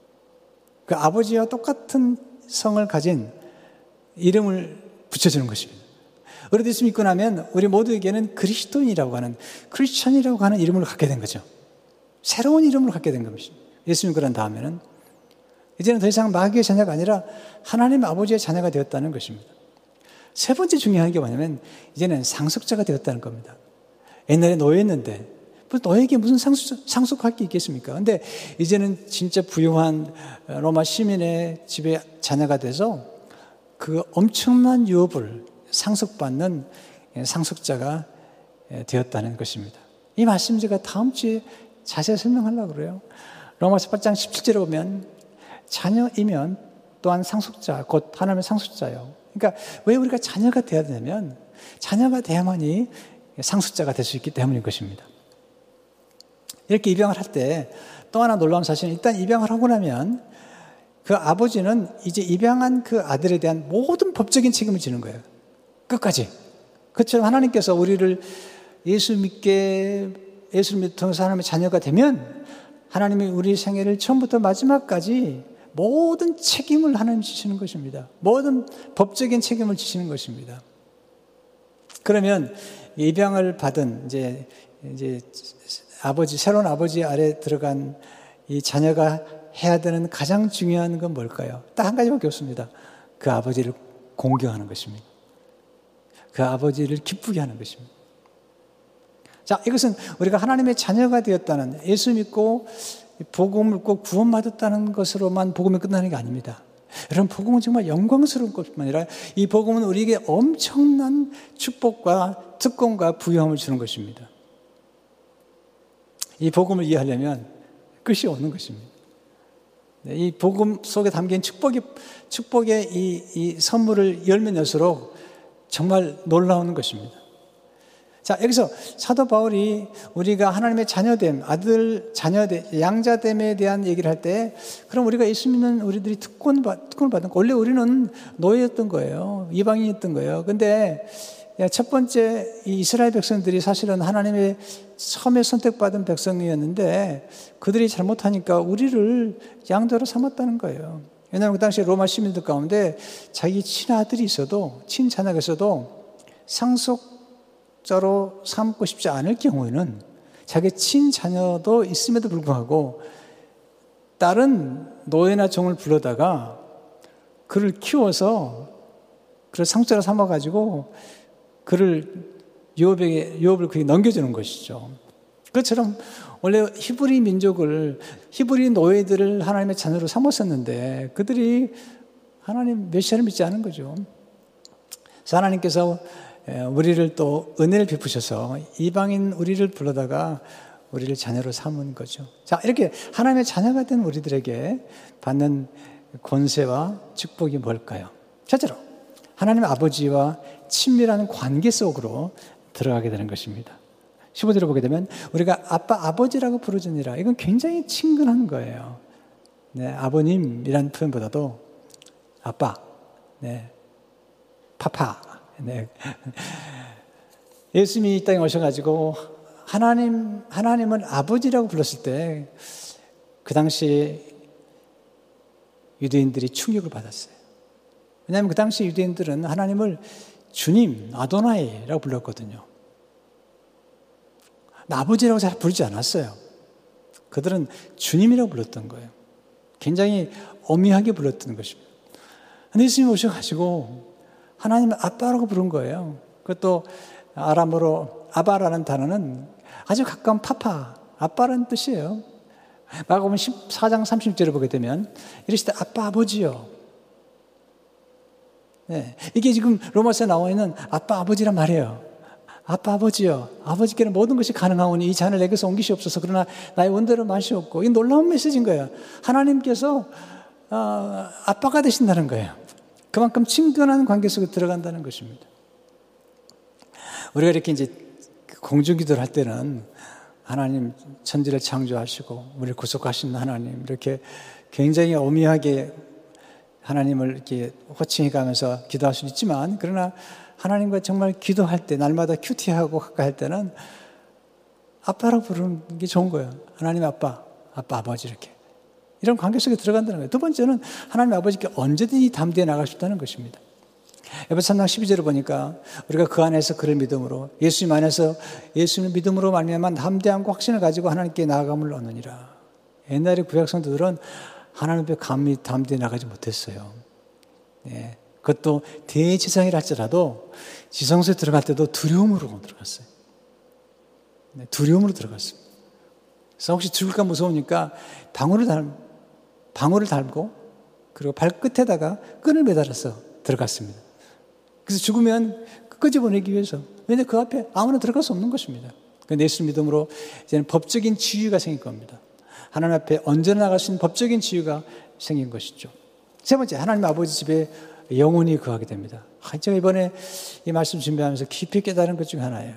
그 아버지와 똑같은 성을 가진 이름을 붙여주는 것입니다. 우리 예수 믿고 나면 우리 모두에게는 그리스도인이라고 하는, 크리스천이라고 하는 이름을 갖게 된 거죠. 새로운 이름을 갖게 된 것입니다. 예수 믿고 난 다음에는 이제는 더 이상 마귀의 자녀가 아니라 하나님 아버지의 자녀가 되었다는 것입니다. 세 번째 중요한 게 뭐냐면 이제는 상속자가 되었다는 겁니다. 옛날에 노예였는데 너에게 무슨 상속, 상속할 게 있겠습니까? 근데 이제는 진짜 부유한 로마 시민의 집에 자녀가 돼서 그 엄청난 유업을 상속받는 상속자가 되었다는 것입니다. 이 말씀 제가 다음 주에 자세히 설명하려고 그래요. 로마서 팔 장 십칠 절에 보면 자녀이면 또한 상속자, 곧 하나님의 상속자요. 그러니까 왜 우리가 자녀가 되어야 되냐면 자녀가 돼야만이 상속자가 될 수 있기 때문인 것입니다. 이렇게 입양을 할 때 또 하나 놀라운 사실은 일단 입양을 하고 나면 그 아버지는 이제 입양한 그 아들에 대한 모든 법적인 책임을 지는 거예요. 끝까지. 그처럼 하나님께서 우리를 예수 믿게, 예수를 통해서 하나님의 자녀가 되면 하나님이 우리 생애를 처음부터 마지막까지 모든 책임을 하나님 지시는 것입니다. 모든 법적인 책임을 지시는 것입니다. 그러면 입양을 받은 이제, 이제 아버지, 새로운 아버지 아래 들어간 이 자녀가 해야 되는 가장 중요한 건 뭘까요? 딱 한 가지밖에 없습니다. 그 아버지를 공경하는 것입니다. 그 아버지를 기쁘게 하는 것입니다. 자, 이것은 우리가 하나님의 자녀가 되었다는, 예수 믿고 복음을 꼭 구원받았다는 것으로만 복음이 끝나는 게 아닙니다. 여러분, 복음은 정말 영광스러운 것뿐만 아니라 이 복음은 우리에게 엄청난 축복과 특권과 부유함을 주는 것입니다. 이 복음을 이해하려면 끝이 없는 것입니다. 이 복음 속에 담긴 축복이, 축복의 이, 이 선물을 열면 열수록 정말 놀라운 것입니다. 자, 여기서 사도 바울이 우리가 하나님의 자녀됨, 아들, 자녀됨, 양자됨에 대한 얘기를 할 때, 그럼 우리가 예수 믿는 우리들이 특권, 특권을 받은 거, 원래 우리는 노예였던 거예요. 이방인이었던 거예요. 근데 첫 번째 이 이스라엘 백성들이 사실은 하나님의 처음에 선택받은 백성이었는데 그들이 잘못하니까 우리를 양자로 삼았다는 거예요. 왜냐하면 그 당시에 로마 시민들 가운데 자기 친아들이 있어도, 친자녀가 있어도 상속자로 삼고 싶지 않을 경우에는 자기 친자녀도 있음에도 불구하고 다른 노예나 종을 불러다가 그를 키워서 그를 상속자로 삼아가지고 그를 유업에게, 유업을 그에게 넘겨주는 것이죠. 그것처럼 원래 히브리 민족을, 히브리 노예들을 하나님의 자녀로 삼았었는데 그들이 하나님 메시아를 믿지 않은 거죠. 그래서 하나님께서 우리를 또 은혜를 베푸셔서 이방인 우리를 불러다가 우리를 자녀로 삼은 거죠. 자, 이렇게 하나님의 자녀가 된 우리들에게 받는 권세와 축복이 뭘까요? 첫째로 하나님의 아버지와 친밀한 관계 속으로 들어가게 되는 것입니다. 십오 절을 보게 되면 우리가 아빠, 아버지라고 부르짖니라. 이건 굉장히 친근한 거예요. 네, 아버님이라는 표현보다도 아빠, 네, 파파. 네. 예수님이 이 땅에 오셔가지고 하나님, 하나님을 아버지라고 불렀을 때 그 당시 유대인들이 충격을 받았어요. 왜냐하면 그 당시 유대인들은 하나님을 주님, 아도나이라고 불렀거든요. 아버지라고 잘 부르지 않았어요. 그들은 주님이라고 불렀던 거예요. 굉장히 엄미하게 불렀던 것입니다. 근데 예수님이 오셔가지고 하나님을 아빠라고 부른 거예요. 그것도 아람어로 아바라는 단어는 아주 가까운 파파, 아빠라는 뜻이에요. 마가복음 십사 장 삼십 절을 보게 되면 이르시되 아빠 아버지요. 네, 이게 지금 로마서에 나와 있는 아빠 아버지란 말이에요. 아빠 아버지요. 아버지께는 모든 것이 가능하오니 이 잔을 내게서 옮기시옵소서. 그러나 나의 원대로 마시옵고. 이 놀라운 메시지인 거예요. 하나님께서 어, 아빠가 되신다는 거예요. 그만큼 친근한 관계 속에 들어간다는 것입니다. 우리가 이렇게 이제 공중기도를 할 때는 하나님 천지를 창조하시고 우리를 구속하신 하나님 이렇게 굉장히 엄미하게 하나님을 이렇게 호칭해 가면서 기도할 수 있지만 그러나 하나님과 정말 기도할 때 날마다 큐티하고 가까이 할 때는 아빠라고 부르는 게 좋은 거예요. 하나님 아빠, 아빠 아버지 이렇게. 이런 관계 속에 들어간다는 거예요. 두 번째는 하나님 아버지께 언제든지 담대히 나갈 수 있다는 것입니다. 에베소 삼 장 십이 절을 보니까 우리가 그 안에서 그를 믿음으로 예수님 안에서 예수님을 믿음으로 말미암아 담대함과 확신을 가지고 하나님께 나아감을 얻느니라. 옛날에 구약 성도들은 하나님 앞에 감히 담대히 나가지 못했어요. 네. 그것도 대지상이라 할지라도 지성소에 들어갈 때도 두려움으로 들어갔어요. 네. 두려움으로 들어갔습니다. 그래서 혹시 죽을까 무서우니까 방울을 달, 방울을 달고 그리고 발끝에다가 끈을 매달아서 들어갔습니다. 그래서 죽으면 끄집어내기 위해서. 왜냐하면 그 앞에 아무나 들어갈 수 없는 것입니다. 그런데 예수 믿음으로 이제는 법적인 지위가 생길 겁니다. 하나님 앞에 언제나 나갈 수 있는 법적인 지위가 생긴 것이죠. 세 번째, 하나님 아버지 집에 영원히 거하게 됩니다. 제가 이번에 이 말씀 준비하면서 깊이 깨달은 것 중 하나예요.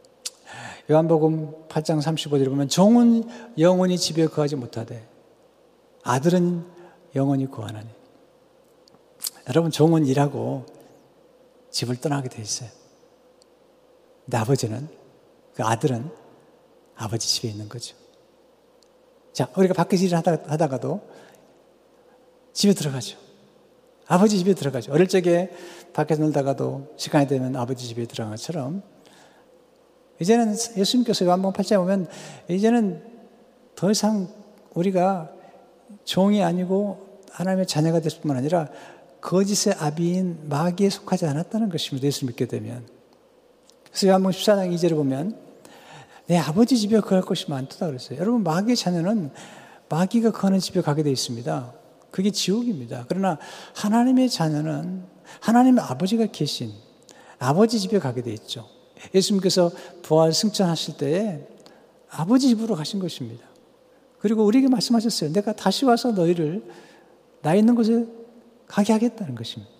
요한복음 팔 장 삼십오 절에 보면 종은 영원히 집에 거하지 못하되 아들은 영원히 거하나니. 여러분, 종은 일하고 집을 떠나게 돼 있어요. 근데 아버지는, 그 아들은 아버지 집에 있는 거죠. 자, 우리가 밖에서 일을 하다, 하다가도 집에 들어가죠. 아버지 집에 들어가죠. 어릴 적에 밖에서 놀다가도 시간이 되면 아버지 집에 들어간 것처럼 이제는 예수님께서 요한복음 팔 장에 보면 이제는 더 이상 우리가 종이 아니고 하나님의 자녀가 될 뿐만 아니라 거짓의 아비인 마귀에 속하지 않았다는 것입니다. 예수 믿게 되면. 그래서 요한복음 십사 장 이 절을 보면 내 아버지 집에 거할 것이 많도다 그랬어요. 여러분, 마귀의 자녀는 마귀가 거하는 집에 가게 되어 있습니다. 그게 지옥입니다. 그러나 하나님의 자녀는 하나님의 아버지가 계신 아버지 집에 가게 되어 있죠. 예수님께서 부활 승천하실 때에 아버지 집으로 가신 것입니다. 그리고 우리에게 말씀하셨어요. 내가 다시 와서 너희를 나 있는 곳에 가게 하겠다는 것입니다.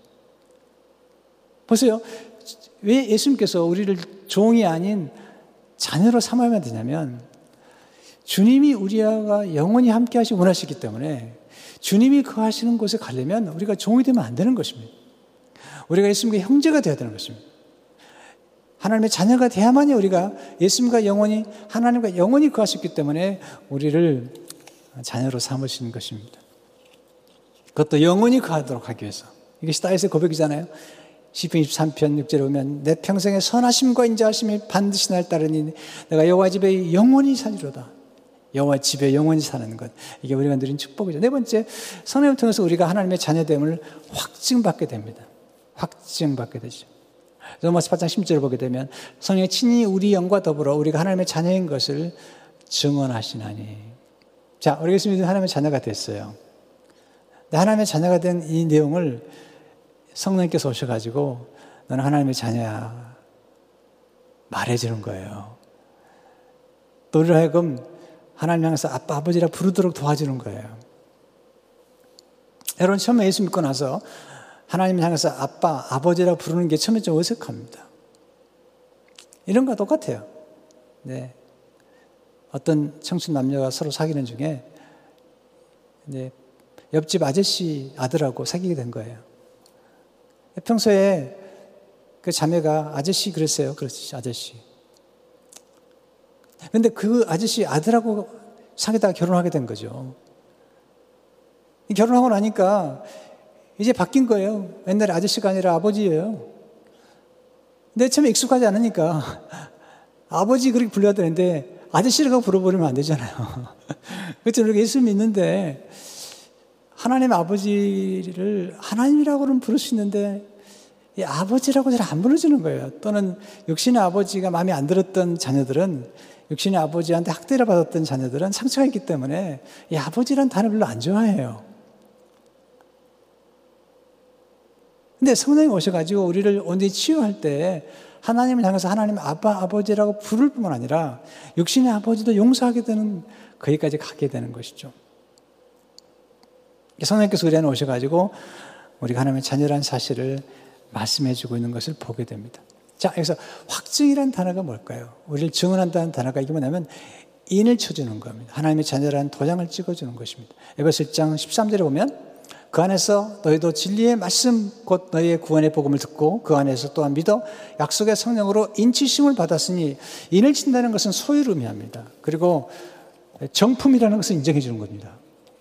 보세요. 왜 예수님께서 우리를 종이 아닌 자녀로 삼아야 되냐면 주님이 우리와 영원히 함께 하시기 원하시기 때문에 주님이 거하시는 곳에 가려면 우리가 종이 되면 안 되는 것입니다. 우리가 예수님과 형제가 되어야 되는 것입니다. 하나님의 자녀가 돼야만이 우리가 예수님과 영원히 하나님과 영원히 거하셨기 때문에 우리를 자녀로 삼으시는 것입니다. 그것도 영원히 거하도록 하기 위해서. 이것이 다윗의 고백이잖아요. 시편 이십삼 편 육 절에 보면 내 평생의 선하심과 인자하심이 반드시 날 따르니 내가 여호와 집에 영원히 살리로다. 여호와 집에 영원히 사는 것. 이게 우리가 누린 축복이죠. 네 번째, 성령을 통해서 우리가 하나님의 자녀됨을 확증받게 됩니다. 확증받게 되죠. 로마서 팔 장 십 절을 보게 되면 성령이 친히 우리 영과 더불어 우리가 하나님의 자녀인 것을 증언하시나니. 자, 우리 예수 믿는 하나님의 자녀가 됐어요. 하나님의 자녀가 된 이 내용을 성령께서 오셔가지고 너는 하나님의 자녀야 말해주는 거예요. 또 우리를 하여금 하나님 향해서 아빠, 아버지라 부르도록 도와주는 거예요. 여러분 처음에 예수 믿고 나서 하나님을 향해서 아빠, 아버지라 부르는 게 처음에 좀 어색합니다. 이런 거 똑같아요. 네. 어떤 청춘 남녀가 서로 사귀는 중에 네, 옆집 아저씨 아들하고 사귀게 된 거예요. 평소에 그 자매가 아저씨 그랬어요. 그렇지, 아저씨. 근데 그 아저씨 아들하고 사귀다가 결혼하게 된 거죠. 결혼하고 나니까 이제 바뀐 거예요. 옛날에 아저씨가 아니라 아버지예요. 근데 처음에 익숙하지 않으니까 아버지 그렇게 불러야 되는데 아저씨라고 불러버리면 안 되잖아요. 그렇죠. 우리가 예수 믿는데 하나님 아버지를 하나님이라고는 부를 수 있는데 이 아버지라고 잘 안 불러주는 거예요. 또는 육신의 아버지가 마음에 안 들었던 자녀들은, 육신의 아버지한테 학대를 받았던 자녀들은 상처가 있기 때문에 이 아버지란 단어 별로 안 좋아해요. 근데 성령이 오셔가지고 우리를 온전히 치유할 때 하나님을 향해서 하나님 아빠, 아버지라고 부를 뿐만 아니라 육신의 아버지도 용서하게 되는, 거기까지 가게 되는 것이죠. 성령께서 우리 안에 오셔가지고 우리가 하나님의 자녀라는 사실을 말씀해주고 있는 것을 보게 됩니다. 자, 여기서 확증이라는 단어가 뭘까요? 우리를 증언한다는 단어가 이게 뭐냐면 인을 쳐주는 겁니다. 하나님의 자녀라는 도장을 찍어주는 것입니다. 에베소 일 장 십삼 절에 보면 그 안에서 너희도 진리의 말씀 곧 너희의 구원의 복음을 듣고 그 안에서 또한 믿어 약속의 성령으로 인치심을 받았으니, 인을 친다는 것은 소유를 의미합니다. 그리고 정품이라는 것을 인정해 주는 겁니다.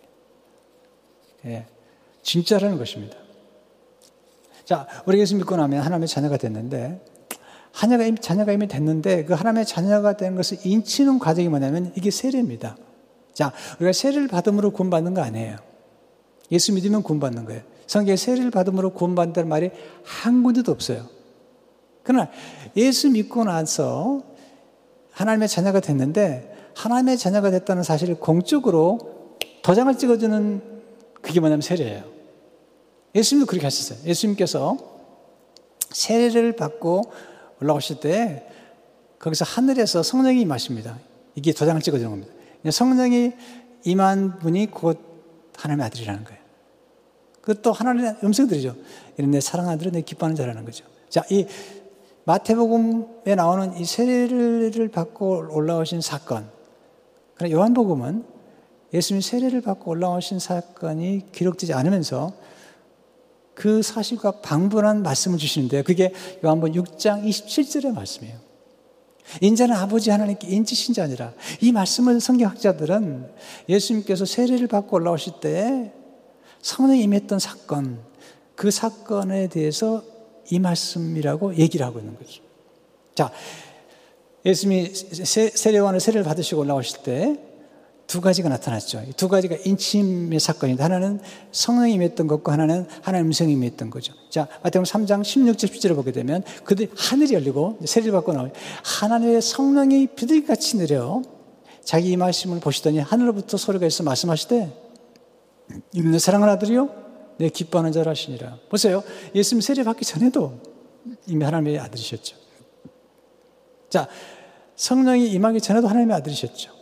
예, 진짜라는 것입니다. 자, 우리 예수 믿고 나면 하나님의 자녀가 됐는데, 하나가 이미, 자녀가 이미 됐는데 그 하나님의 자녀가 되는 것을 인치는 과정이 뭐냐면 이게 세례입니다. 자, 우리가 세례를 받음으로 구원받는 거 아니에요. 예수 믿으면 구원받는 거예요. 성경에 세례를 받음으로 구원받는다는 말이 한 군데도 없어요. 그러나 예수 믿고 나서 하나님의 자녀가 됐는데 하나님의 자녀가 됐다는 사실을 공적으로 도장을 찍어주는, 그게 뭐냐면 세례예요. 예수님도 그렇게 하셨어요. 예수님께서 세례를 받고 올라오실 때 거기서 하늘에서 성령이 임하십니다. 이게 도장을 찍어주는 겁니다. 성령이 임한 분이 곧 하나님의 아들이라는 거예요. 그것도 하나님의 음성들이죠. 이런 내 사랑하는 아들은 내 기뻐하는 자라는 거죠. 자, 이 마태복음에 나오는 이 세례를 받고 올라오신 사건, 그러나 요한복음은 예수님이 세례를 받고 올라오신 사건이 기록되지 않으면서 그 사실과 방분한 말씀을 주시는데요. 그게 요한복음 육 장 이십칠 절의 말씀이에요. 인자는 아버지 하나님께 인치신 자 아니라, 이 말씀을 성경학자들은 예수님께서 세례를 받고 올라오실 때 성령이 임했던 사건, 그 사건에 대해서 이 말씀이라고 얘기를 하고 있는 거죠. 자, 예수님이 세례요한의 세례를 받으시고 올라오실 때 두 가지가 나타났죠. 두 가지가 인침의 사건인데, 하나는 성령이 임했던 것과 하나는 하나님의 음성이 임했던 거죠. 자, 마태복음 삼 장 십육 절 십칠 절을 보게 되면 그들 하늘이 열리고 세례를 받고 나오니 하나님의 성령이 비둘기같이 내려 자기 임하심을 보시더니 하늘로부터 소리가 있어 말씀하시되 이는 내 사랑하는 아들이요 내 기뻐하는 자라 하시니라. 보세요. 예수님 세례 받기 전에도 이미 하나님의 아들이셨죠. 자, 성령이 임하기 전에도 하나님의 아들이셨죠.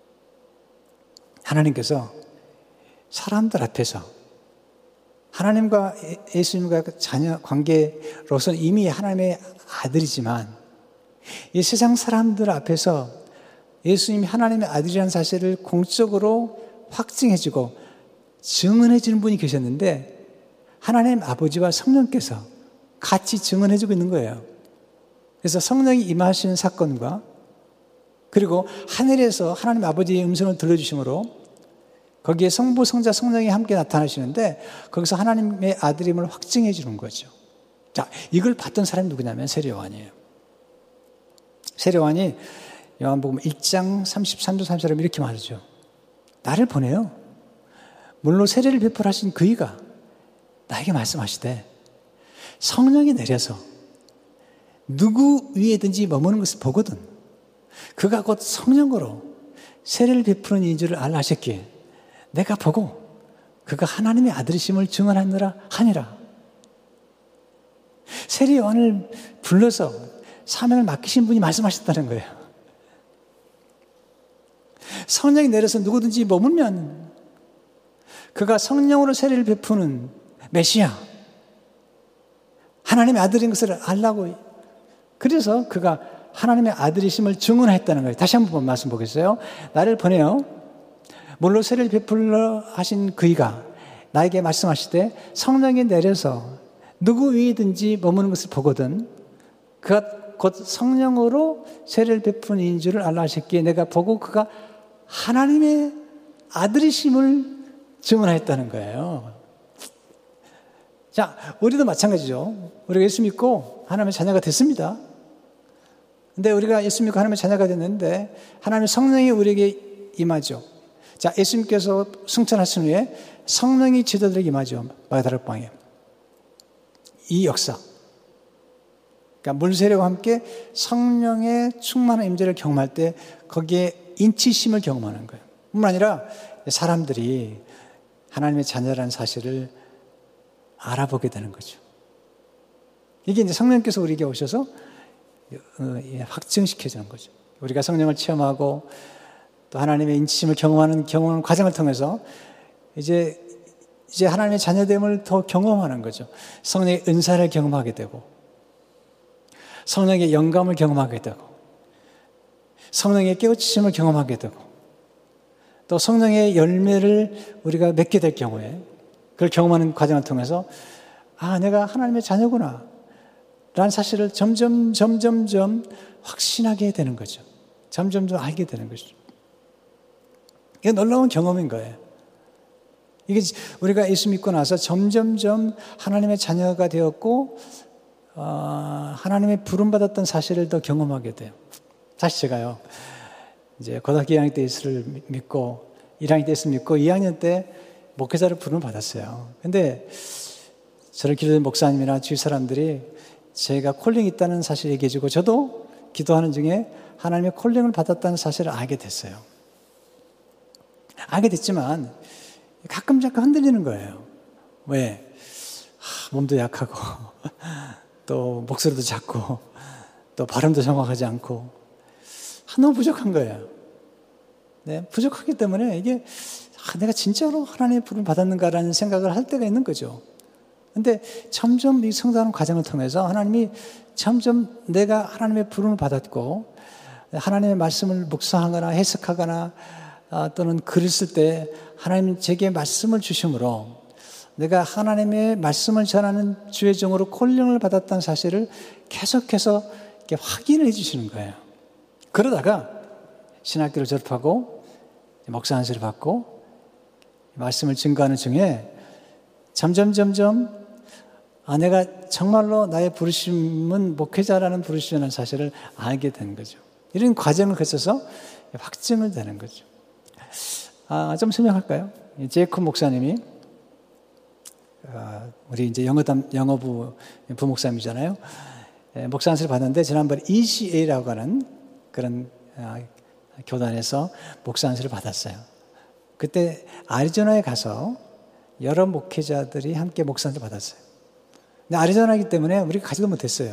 하나님께서 사람들 앞에서 하나님과 예수님과 자녀 관계로서는 이미 하나님의 아들이지만 이 세상 사람들 앞에서 예수님이 하나님의 아들이라는 사실을 공적으로 확증해주고 증언해주는 분이 계셨는데, 하나님 아버지와 성령께서 같이 증언해주고 있는 거예요. 그래서 성령이 임하시는 사건과 그리고 하늘에서 하나님 아버지의 음성을 들려주심으로 거기에 성부, 성자, 성령이 함께 나타나시는데 거기서 하나님의 아들임을 확증해 주는 거죠. 자, 이걸 봤던 사람이 누구냐면 세례 요한이에요. 세례 요한이 요한복음 일 장 삼십삼 절 삼십사 절 이렇게 말하죠. 나를 보내요. 물로 세례를 베풀하신 그이가 나에게 말씀하시되 성령이 내려서 누구 위에든지 머무는 것을 보거든 그가 곧 성령으로 세례를 베푸는 이인 줄을 알라 하셨기에 내가 보고 그가 하나님의 아들이심을 증언하느라 하니라. 세례 요한을 불러서 사명을 맡기신 분이 말씀하셨다는 거예요. 성령이 내려서 누구든지 머물면 그가 성령으로 세례를 베푸는 메시아, 하나님의 아들인 것을 알라고. 그래서 그가 하나님의 아들이심을 증언했다는 거예요. 다시 한번 말씀 보겠어요. 나를 보내어 물로 세례를 베풀러 하신 그이가 나에게 말씀하시되 성령이 내려서 누구 위에든지 머무는 것을 보거든 그가 곧 성령으로 세례를 베푸는 이인 줄을 알라 하셨기에 내가 보고 그가 하나님의 아들이심을 증언하였다는 거예요. 자, 우리도 마찬가지죠. 우리가 예수 믿고 하나님의 자녀가 됐습니다. 근데 우리가 예수 믿고 하나님의 자녀가 됐는데 하나님의 성령이 우리에게 임하죠. 자, 예수님께서 승천하신 후에 성령이 제자들에게 임하죠. 마가다락방에. 이 역사. 그러니까 물세례와 함께 성령의 충만한 임재를 경험할 때 거기에 인치심을 경험하는 거예요. 뿐만 아니라 사람들이 하나님의 자녀라는 사실을 알아보게 되는 거죠. 이게 이제 성령께서 우리에게 오셔서 확증시켜주는 거죠. 우리가 성령을 체험하고 또 하나님의 인치심을 경험하는 경험 과정을 통해서 이제 이제 하나님의 자녀됨을 더 경험하는 거죠. 성령의 은사를 경험하게 되고 성령의 영감을 경험하게 되고 성령의 깨우치심을 경험하게 되고 또 성령의 열매를 우리가 맺게 될 경우에 그걸 경험하는 과정을 통해서 아, 내가 하나님의 자녀구나 라는 사실을 점점 점점점 확신하게 되는 거죠. 점점점 알게 되는 거죠. 이게 놀라운 경험인 거예요. 이게 우리가 예수 믿고 나서 점점점 하나님의 자녀가 되었고 어, 하나님의 부름받았던 사실을 더 경험하게 돼요. 사실 제가요, 이제 고등학교 이 학년 때 예수를 믿고 일 학년 때 예수 믿고 이 학년 때 목회자를 부름을 받았어요. 근데 저를 기도된 목사님이나 주위 사람들이 제가 콜링이 있다는 사실을 얘기해 주고 저도 기도하는 중에 하나님의 콜링을 받았다는 사실을 알게 됐어요. 알게 됐지만 가끔 잠깐 흔들리는 거예요. 왜? 하, 몸도 약하고 또 목소리도 작고 또 발음도 정확하지 않고 너무 부족한 거예요. 네, 부족하기 때문에 이게 아, 내가 진짜로 하나님의 부름을 받았는가라는 생각을 할 때가 있는 거죠. 근데 점점 이 성장하는 과정을 통해서 하나님이 점점 내가 하나님의 부름을 받았고 하나님의 말씀을 묵상하거나 해석하거나 아, 또는 글을 쓸 때 하나님이 제게 말씀을 주심으로 내가 하나님의 말씀을 전하는 주의 종으로 콜링을 받았다는 사실을 계속해서 이렇게 확인을 해 주시는 거예요. 그러다가 신학교를 졸업하고 목사 안수를 받고 말씀을 증거하는 중에 점점 점점 아, 내가 정말로 나의 부르심은 목회자라는 부르심이라는 사실을 알게 되는 거죠. 이런 과정을 거쳐서 확증을 되는 거죠. 아, 좀 설명할까요? 제이콥 목사님이 아, 우리 이제 영어담, 영어부 부목사님이잖아요. 예, 목사 안수를 받았는데 지난번에 이씨에이라고 하는 그런 아, 교단에서 목사 안수를 받았어요. 그때 아리조나에 가서 여러 목회자들이 함께 목사 안수를 받았어요. 근데 아리조나이기 때문에 우리가 가지도 못했어요.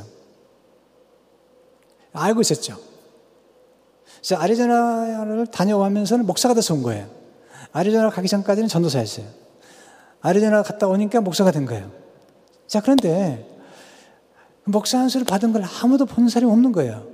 알고 있었죠. 그래서 아리조나를 다녀오면서는 목사가 돼서 온 거예요. 아리조나 가기 전까지는 전도사였어요. 아리조나 갔다 오니까 목사가 된 거예요. 자, 그런데 목사 안수를 받은 걸 아무도 본 사람이 없는 거예요.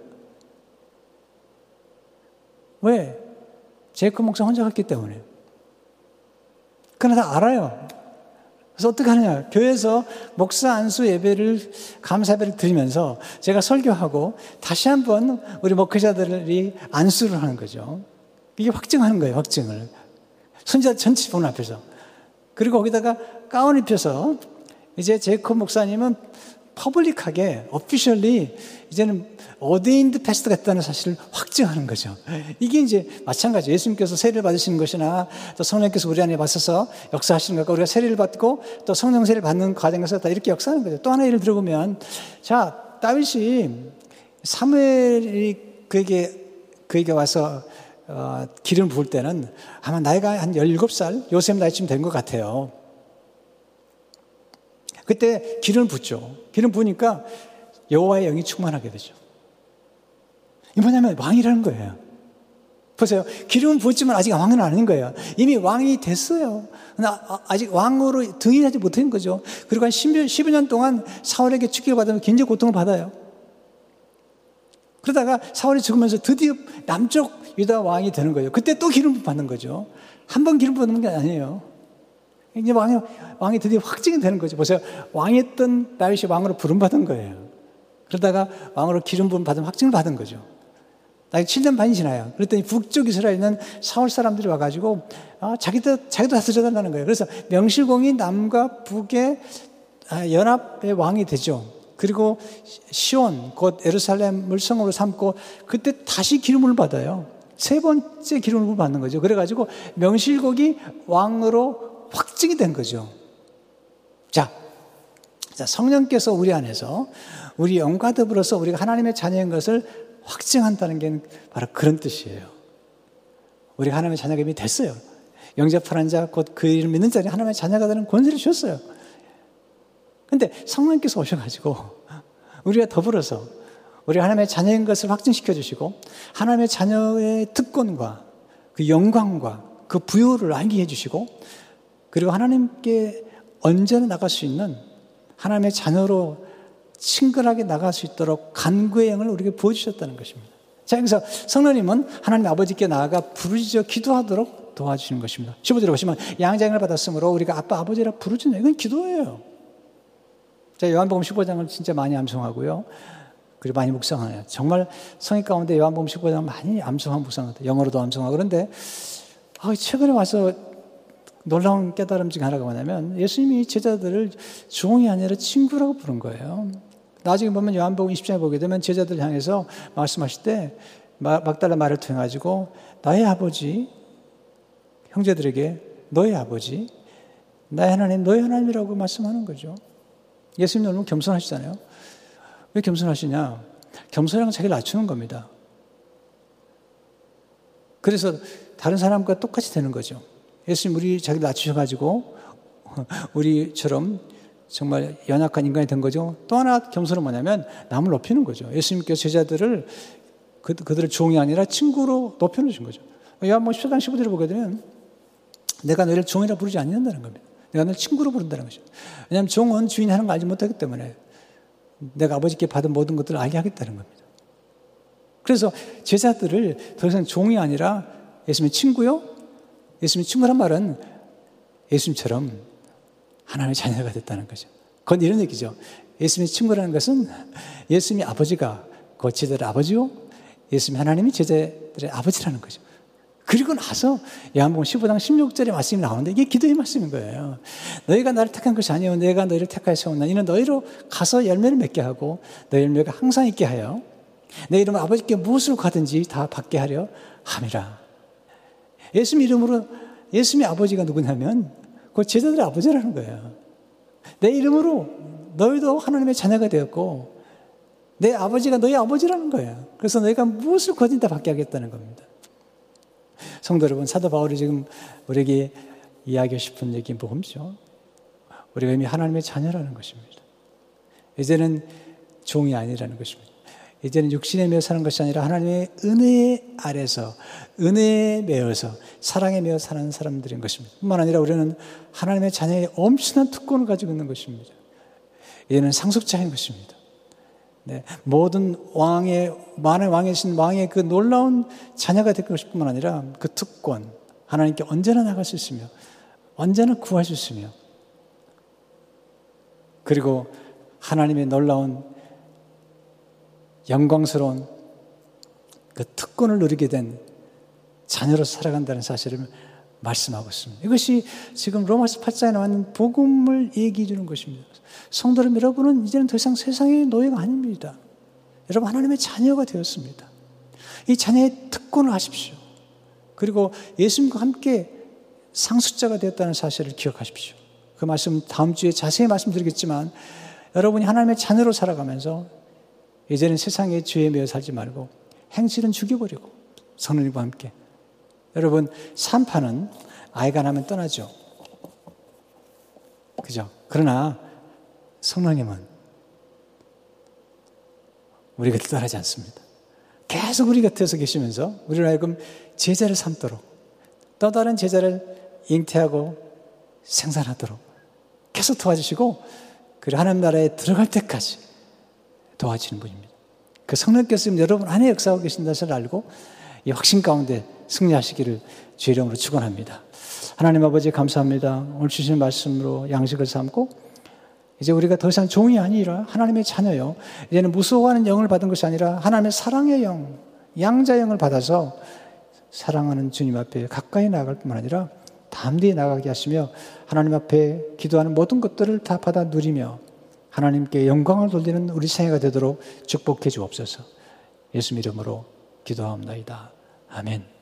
왜? 제이콥 목사 혼자 갔기 때문에. 그러나 다 알아요. 그래서 어떻게 하느냐. 교회에서 목사 안수 예배를, 감사 예배를 드리면서 제가 설교하고 다시 한번 우리 목회자들이 안수를 하는 거죠. 이게 확증하는 거예요, 확증을. 선지자 전체 보는 앞에서. 그리고 거기다가 가운 입혀서 이제 제이콥 목사님은 퍼블릭하게 오피셜리 이제는 어데인드 패스트가 됐다는 사실을 확증하는 거죠. 이게 이제 마찬가지. 예수님께서 세례를 받으시는 것이나 또 성령께서 우리 안에 와서서 역사하시는 것과 우리가 세례를 받고 또 성령 세례를 받는 과정에서 다 이렇게 역사하는 거죠. 또 하나 예를 들어보면, 자, 다윗이 사무엘이 그에게 그에게 와서 어, 기름 부을 때는 아마 나이가 한 열일곱 살, 요셉 나이쯤 된 것 같아요. 그때 기름 붓죠. 기름 부으니까 여호와의 영이 충만하게 되죠. 이 뭐냐면 왕이라는 거예요. 보세요. 기름은 부었지만 아직 왕은 아닌 거예요. 이미 왕이 됐어요. 아직 왕으로 등이하지 못한 거죠. 그리고 한 십여 년 동안 사울에게 축기를 받으면 굉장히 고통을 받아요. 그러다가 사울이 죽으면서 드디어 남쪽 유다 왕이 되는 거예요. 그때 또 기름 받는 거죠. 한 번 기름 받는 게 아니에요. 이제 왕이, 왕이 드디어 확증이 되는 거죠. 보세요. 왕이었던 다윗이 왕으로 부름받은 거예요. 그러다가 왕으로 기름 부음 받은 확증을 받은 거죠. 다윗 칠 년 반이 지나요. 그랬더니 북쪽 이스라엘에 있는 사울 사람들이 와가지고 아, 자기도, 자기도 다스려달라는 거예요. 그래서 명실공히 남과 북의 연합의 왕이 되죠. 그리고 시온, 곧 예루살렘을 성으로 삼고 그때 다시 기름을 받아요. 세 번째 기름을 받는 거죠. 그래가지고 명실공히 왕으로 확증이 된 거죠. 자, 자, 성령께서 우리 안에서 우리 영과 더불어서 우리가 하나님의 자녀인 것을 확증한다는 게 바로 그런 뜻이에요. 우리가 하나님의 자녀가 이미 됐어요. 영접하는 자, 곧 그 이름 믿는 자는 하나님의 자녀가 되는 권세를 주셨어요. 근데 성령께서 오셔가지고 우리가 더불어서 우리 하나님의 자녀인 것을 확증시켜 주시고 하나님의 자녀의 특권과 그 영광과 그 부요를 알게 해주시고 그리고 하나님께 언제나 나갈 수 있는 하나님의 자녀로 친근하게 나갈 수 있도록 간구의 영을 우리에게 부어주셨다는 것입니다. 자, 여기서 성령님은 하나님 아버지께 나아가 부르짖어 기도하도록 도와주시는 것입니다. 십오 절에 보시면 양자형을 받았으므로 우리가 아빠 아버지라 부르짖는 이건 기도예요. 자, 요한복음 십오 장을 진짜 많이 암송하고요. 그리고 많이 묵상해요. 정말 성의 가운데 요한복음 십오 장 많이 암송하고 묵상하고 영어로도 암송하고 그런데 아, 최근에 와서 놀라운 깨달음 중 하나가 뭐냐면 예수님이 제자들을 종이 아니라 친구라고 부른 거예요. 나중에 보면 요한복음 이십 장에 보게 되면 제자들 향해서 말씀하실 때 막달라 말을 통해 가지고 나의 아버지 형제들에게 너의 아버지 나의 하나님 너의 하나님이라고 말씀하는 거죠. 예수님 너무 겸손하시잖아요. 왜 겸손하시냐? 겸손이란 건 자기를 낮추는 겁니다. 그래서 다른 사람과 똑같이 되는 거죠. 예수님 우리 자기를 낮추셔가지고 우리처럼 정말 연약한 인간이 된 거죠. 또 하나 겸손은 뭐냐면 남을 높이는 거죠. 예수님께서 제자들을 그, 그들을 종이 아니라 친구로 높여놓으신 거죠. 요한복음 십사 장 십오 절을 보게 되면 내가 너희를 종이라 부르지 않는다는 겁니다. 내가 너를 친구로 부른다는 것이죠. 왜냐하면 종은 주인이 하는 걸 알지 못하기 때문에 내가 아버지께 받은 모든 것들을 알게 하겠다는 겁니다. 그래서 제자들을 더 이상 종이 아니라 예수님의 친구요? 예수님의 친구란 말은 예수님처럼 하나님의 자녀가 됐다는 거죠. 그건 이런 얘기죠. 예수님의 친구라는 것은 예수님의 아버지가 그 제자들의 아버지요? 예수님 하나님이 제자들의 아버지라는 거죠. 그리고 나서 요한복음 십오 장 십육 절의 말씀이 나오는데 이게 기도의 말씀인 거예요. 너희가 나를 택한 것이 아니요 내가 너희를 택하여 세웠나 이는 너희로 가서 열매를 맺게 하고 너희 열매가 항상 있게 하여 내 이름으로 아버지께 무엇을 가든지 다 받게 하려 함이라. 예수님 이름으로 예수님의 아버지가 누구냐면 그 제자들의 아버지라는 거예요. 내 이름으로 너희도 하나님의 자녀가 되었고 내 아버지가 너희 아버지라는 거예요. 그래서 너희가 무엇을 거든지 다 받게 하겠다는 겁니다. 성도 여러분, 사도 바울이 지금 우리에게 이야기하고 싶은 얘기는 뭐죠? 우리가 이미 하나님의 자녀라는 것입니다. 이제는 종이 아니라는 것입니다. 이제는 육신에 매여 사는 것이 아니라 하나님의 은혜 아래서 은혜에 매여서 사랑에 매여 사는 사람들인 것입니다. 뿐만 아니라 우리는 하나님의 자녀의 엄청난 특권을 가지고 있는 것입니다. 이제는 상속자인 것입니다. 네, 모든 왕의 만의 왕이신 왕의 그 놀라운 자녀가 될 것뿐만 아니라 그 특권 하나님께 언제나 나갈 수 있으며 언제나 구할 수 있으며 그리고 하나님의 놀라운 영광스러운 그 특권을 누리게 된 자녀로 살아간다는 사실을 말씀하고 있습니다. 이것이 지금 로마서 팔 장에 나오는 복음을 얘기해 주는 것입니다. 성도 여러분, 여러분은 이제는 더 이상 세상의 노예가 아닙니다. 여러분 하나님의 자녀가 되었습니다. 이 자녀의 특권을 하십시오. 그리고 예수님과 함께 상속자가 되었다는 사실을 기억하십시오. 그 말씀 다음 주에 자세히 말씀드리겠지만 여러분이 하나님의 자녀로 살아가면서 이제는 세상의 죄에 매여 살지 말고 행실은 죽여버리고 성령님과 함께. 여러분 산파는 아이가 나면 떠나죠. 그죠? 그러나 성령님은 우리 곁을 떠나지 않습니다. 계속 우리 곁에서 계시면서 우리를 하여금 제자를 삼도록 또 다른 제자를 잉태하고 생산하도록 계속 도와주시고 그리고 하나님 나라에 들어갈 때까지 도와주시는 분입니다. 그 성령께서 여러분 안에 역사하고 계신다는 것을 알고 이 확신 가운데 승리하시기를 주의 이름으로 축원합니다. 하나님 아버지 감사합니다. 오늘 주신 말씀으로 양식을 삼고 이제 우리가 더 이상 종이 아니라 하나님의 자녀요. 이제는 무서워하는 영을 받은 것이 아니라 하나님의 사랑의 영, 양자 영을 받아서 사랑하는 주님 앞에 가까이 나아갈 뿐만 아니라 담대히 나가게 하시며 하나님 앞에 기도하는 모든 것들을 다 받아 누리며 하나님께 영광을 돌리는 우리 생애가 되도록 축복해 주옵소서. 예수 이름으로 기도하옵나이다. 아멘.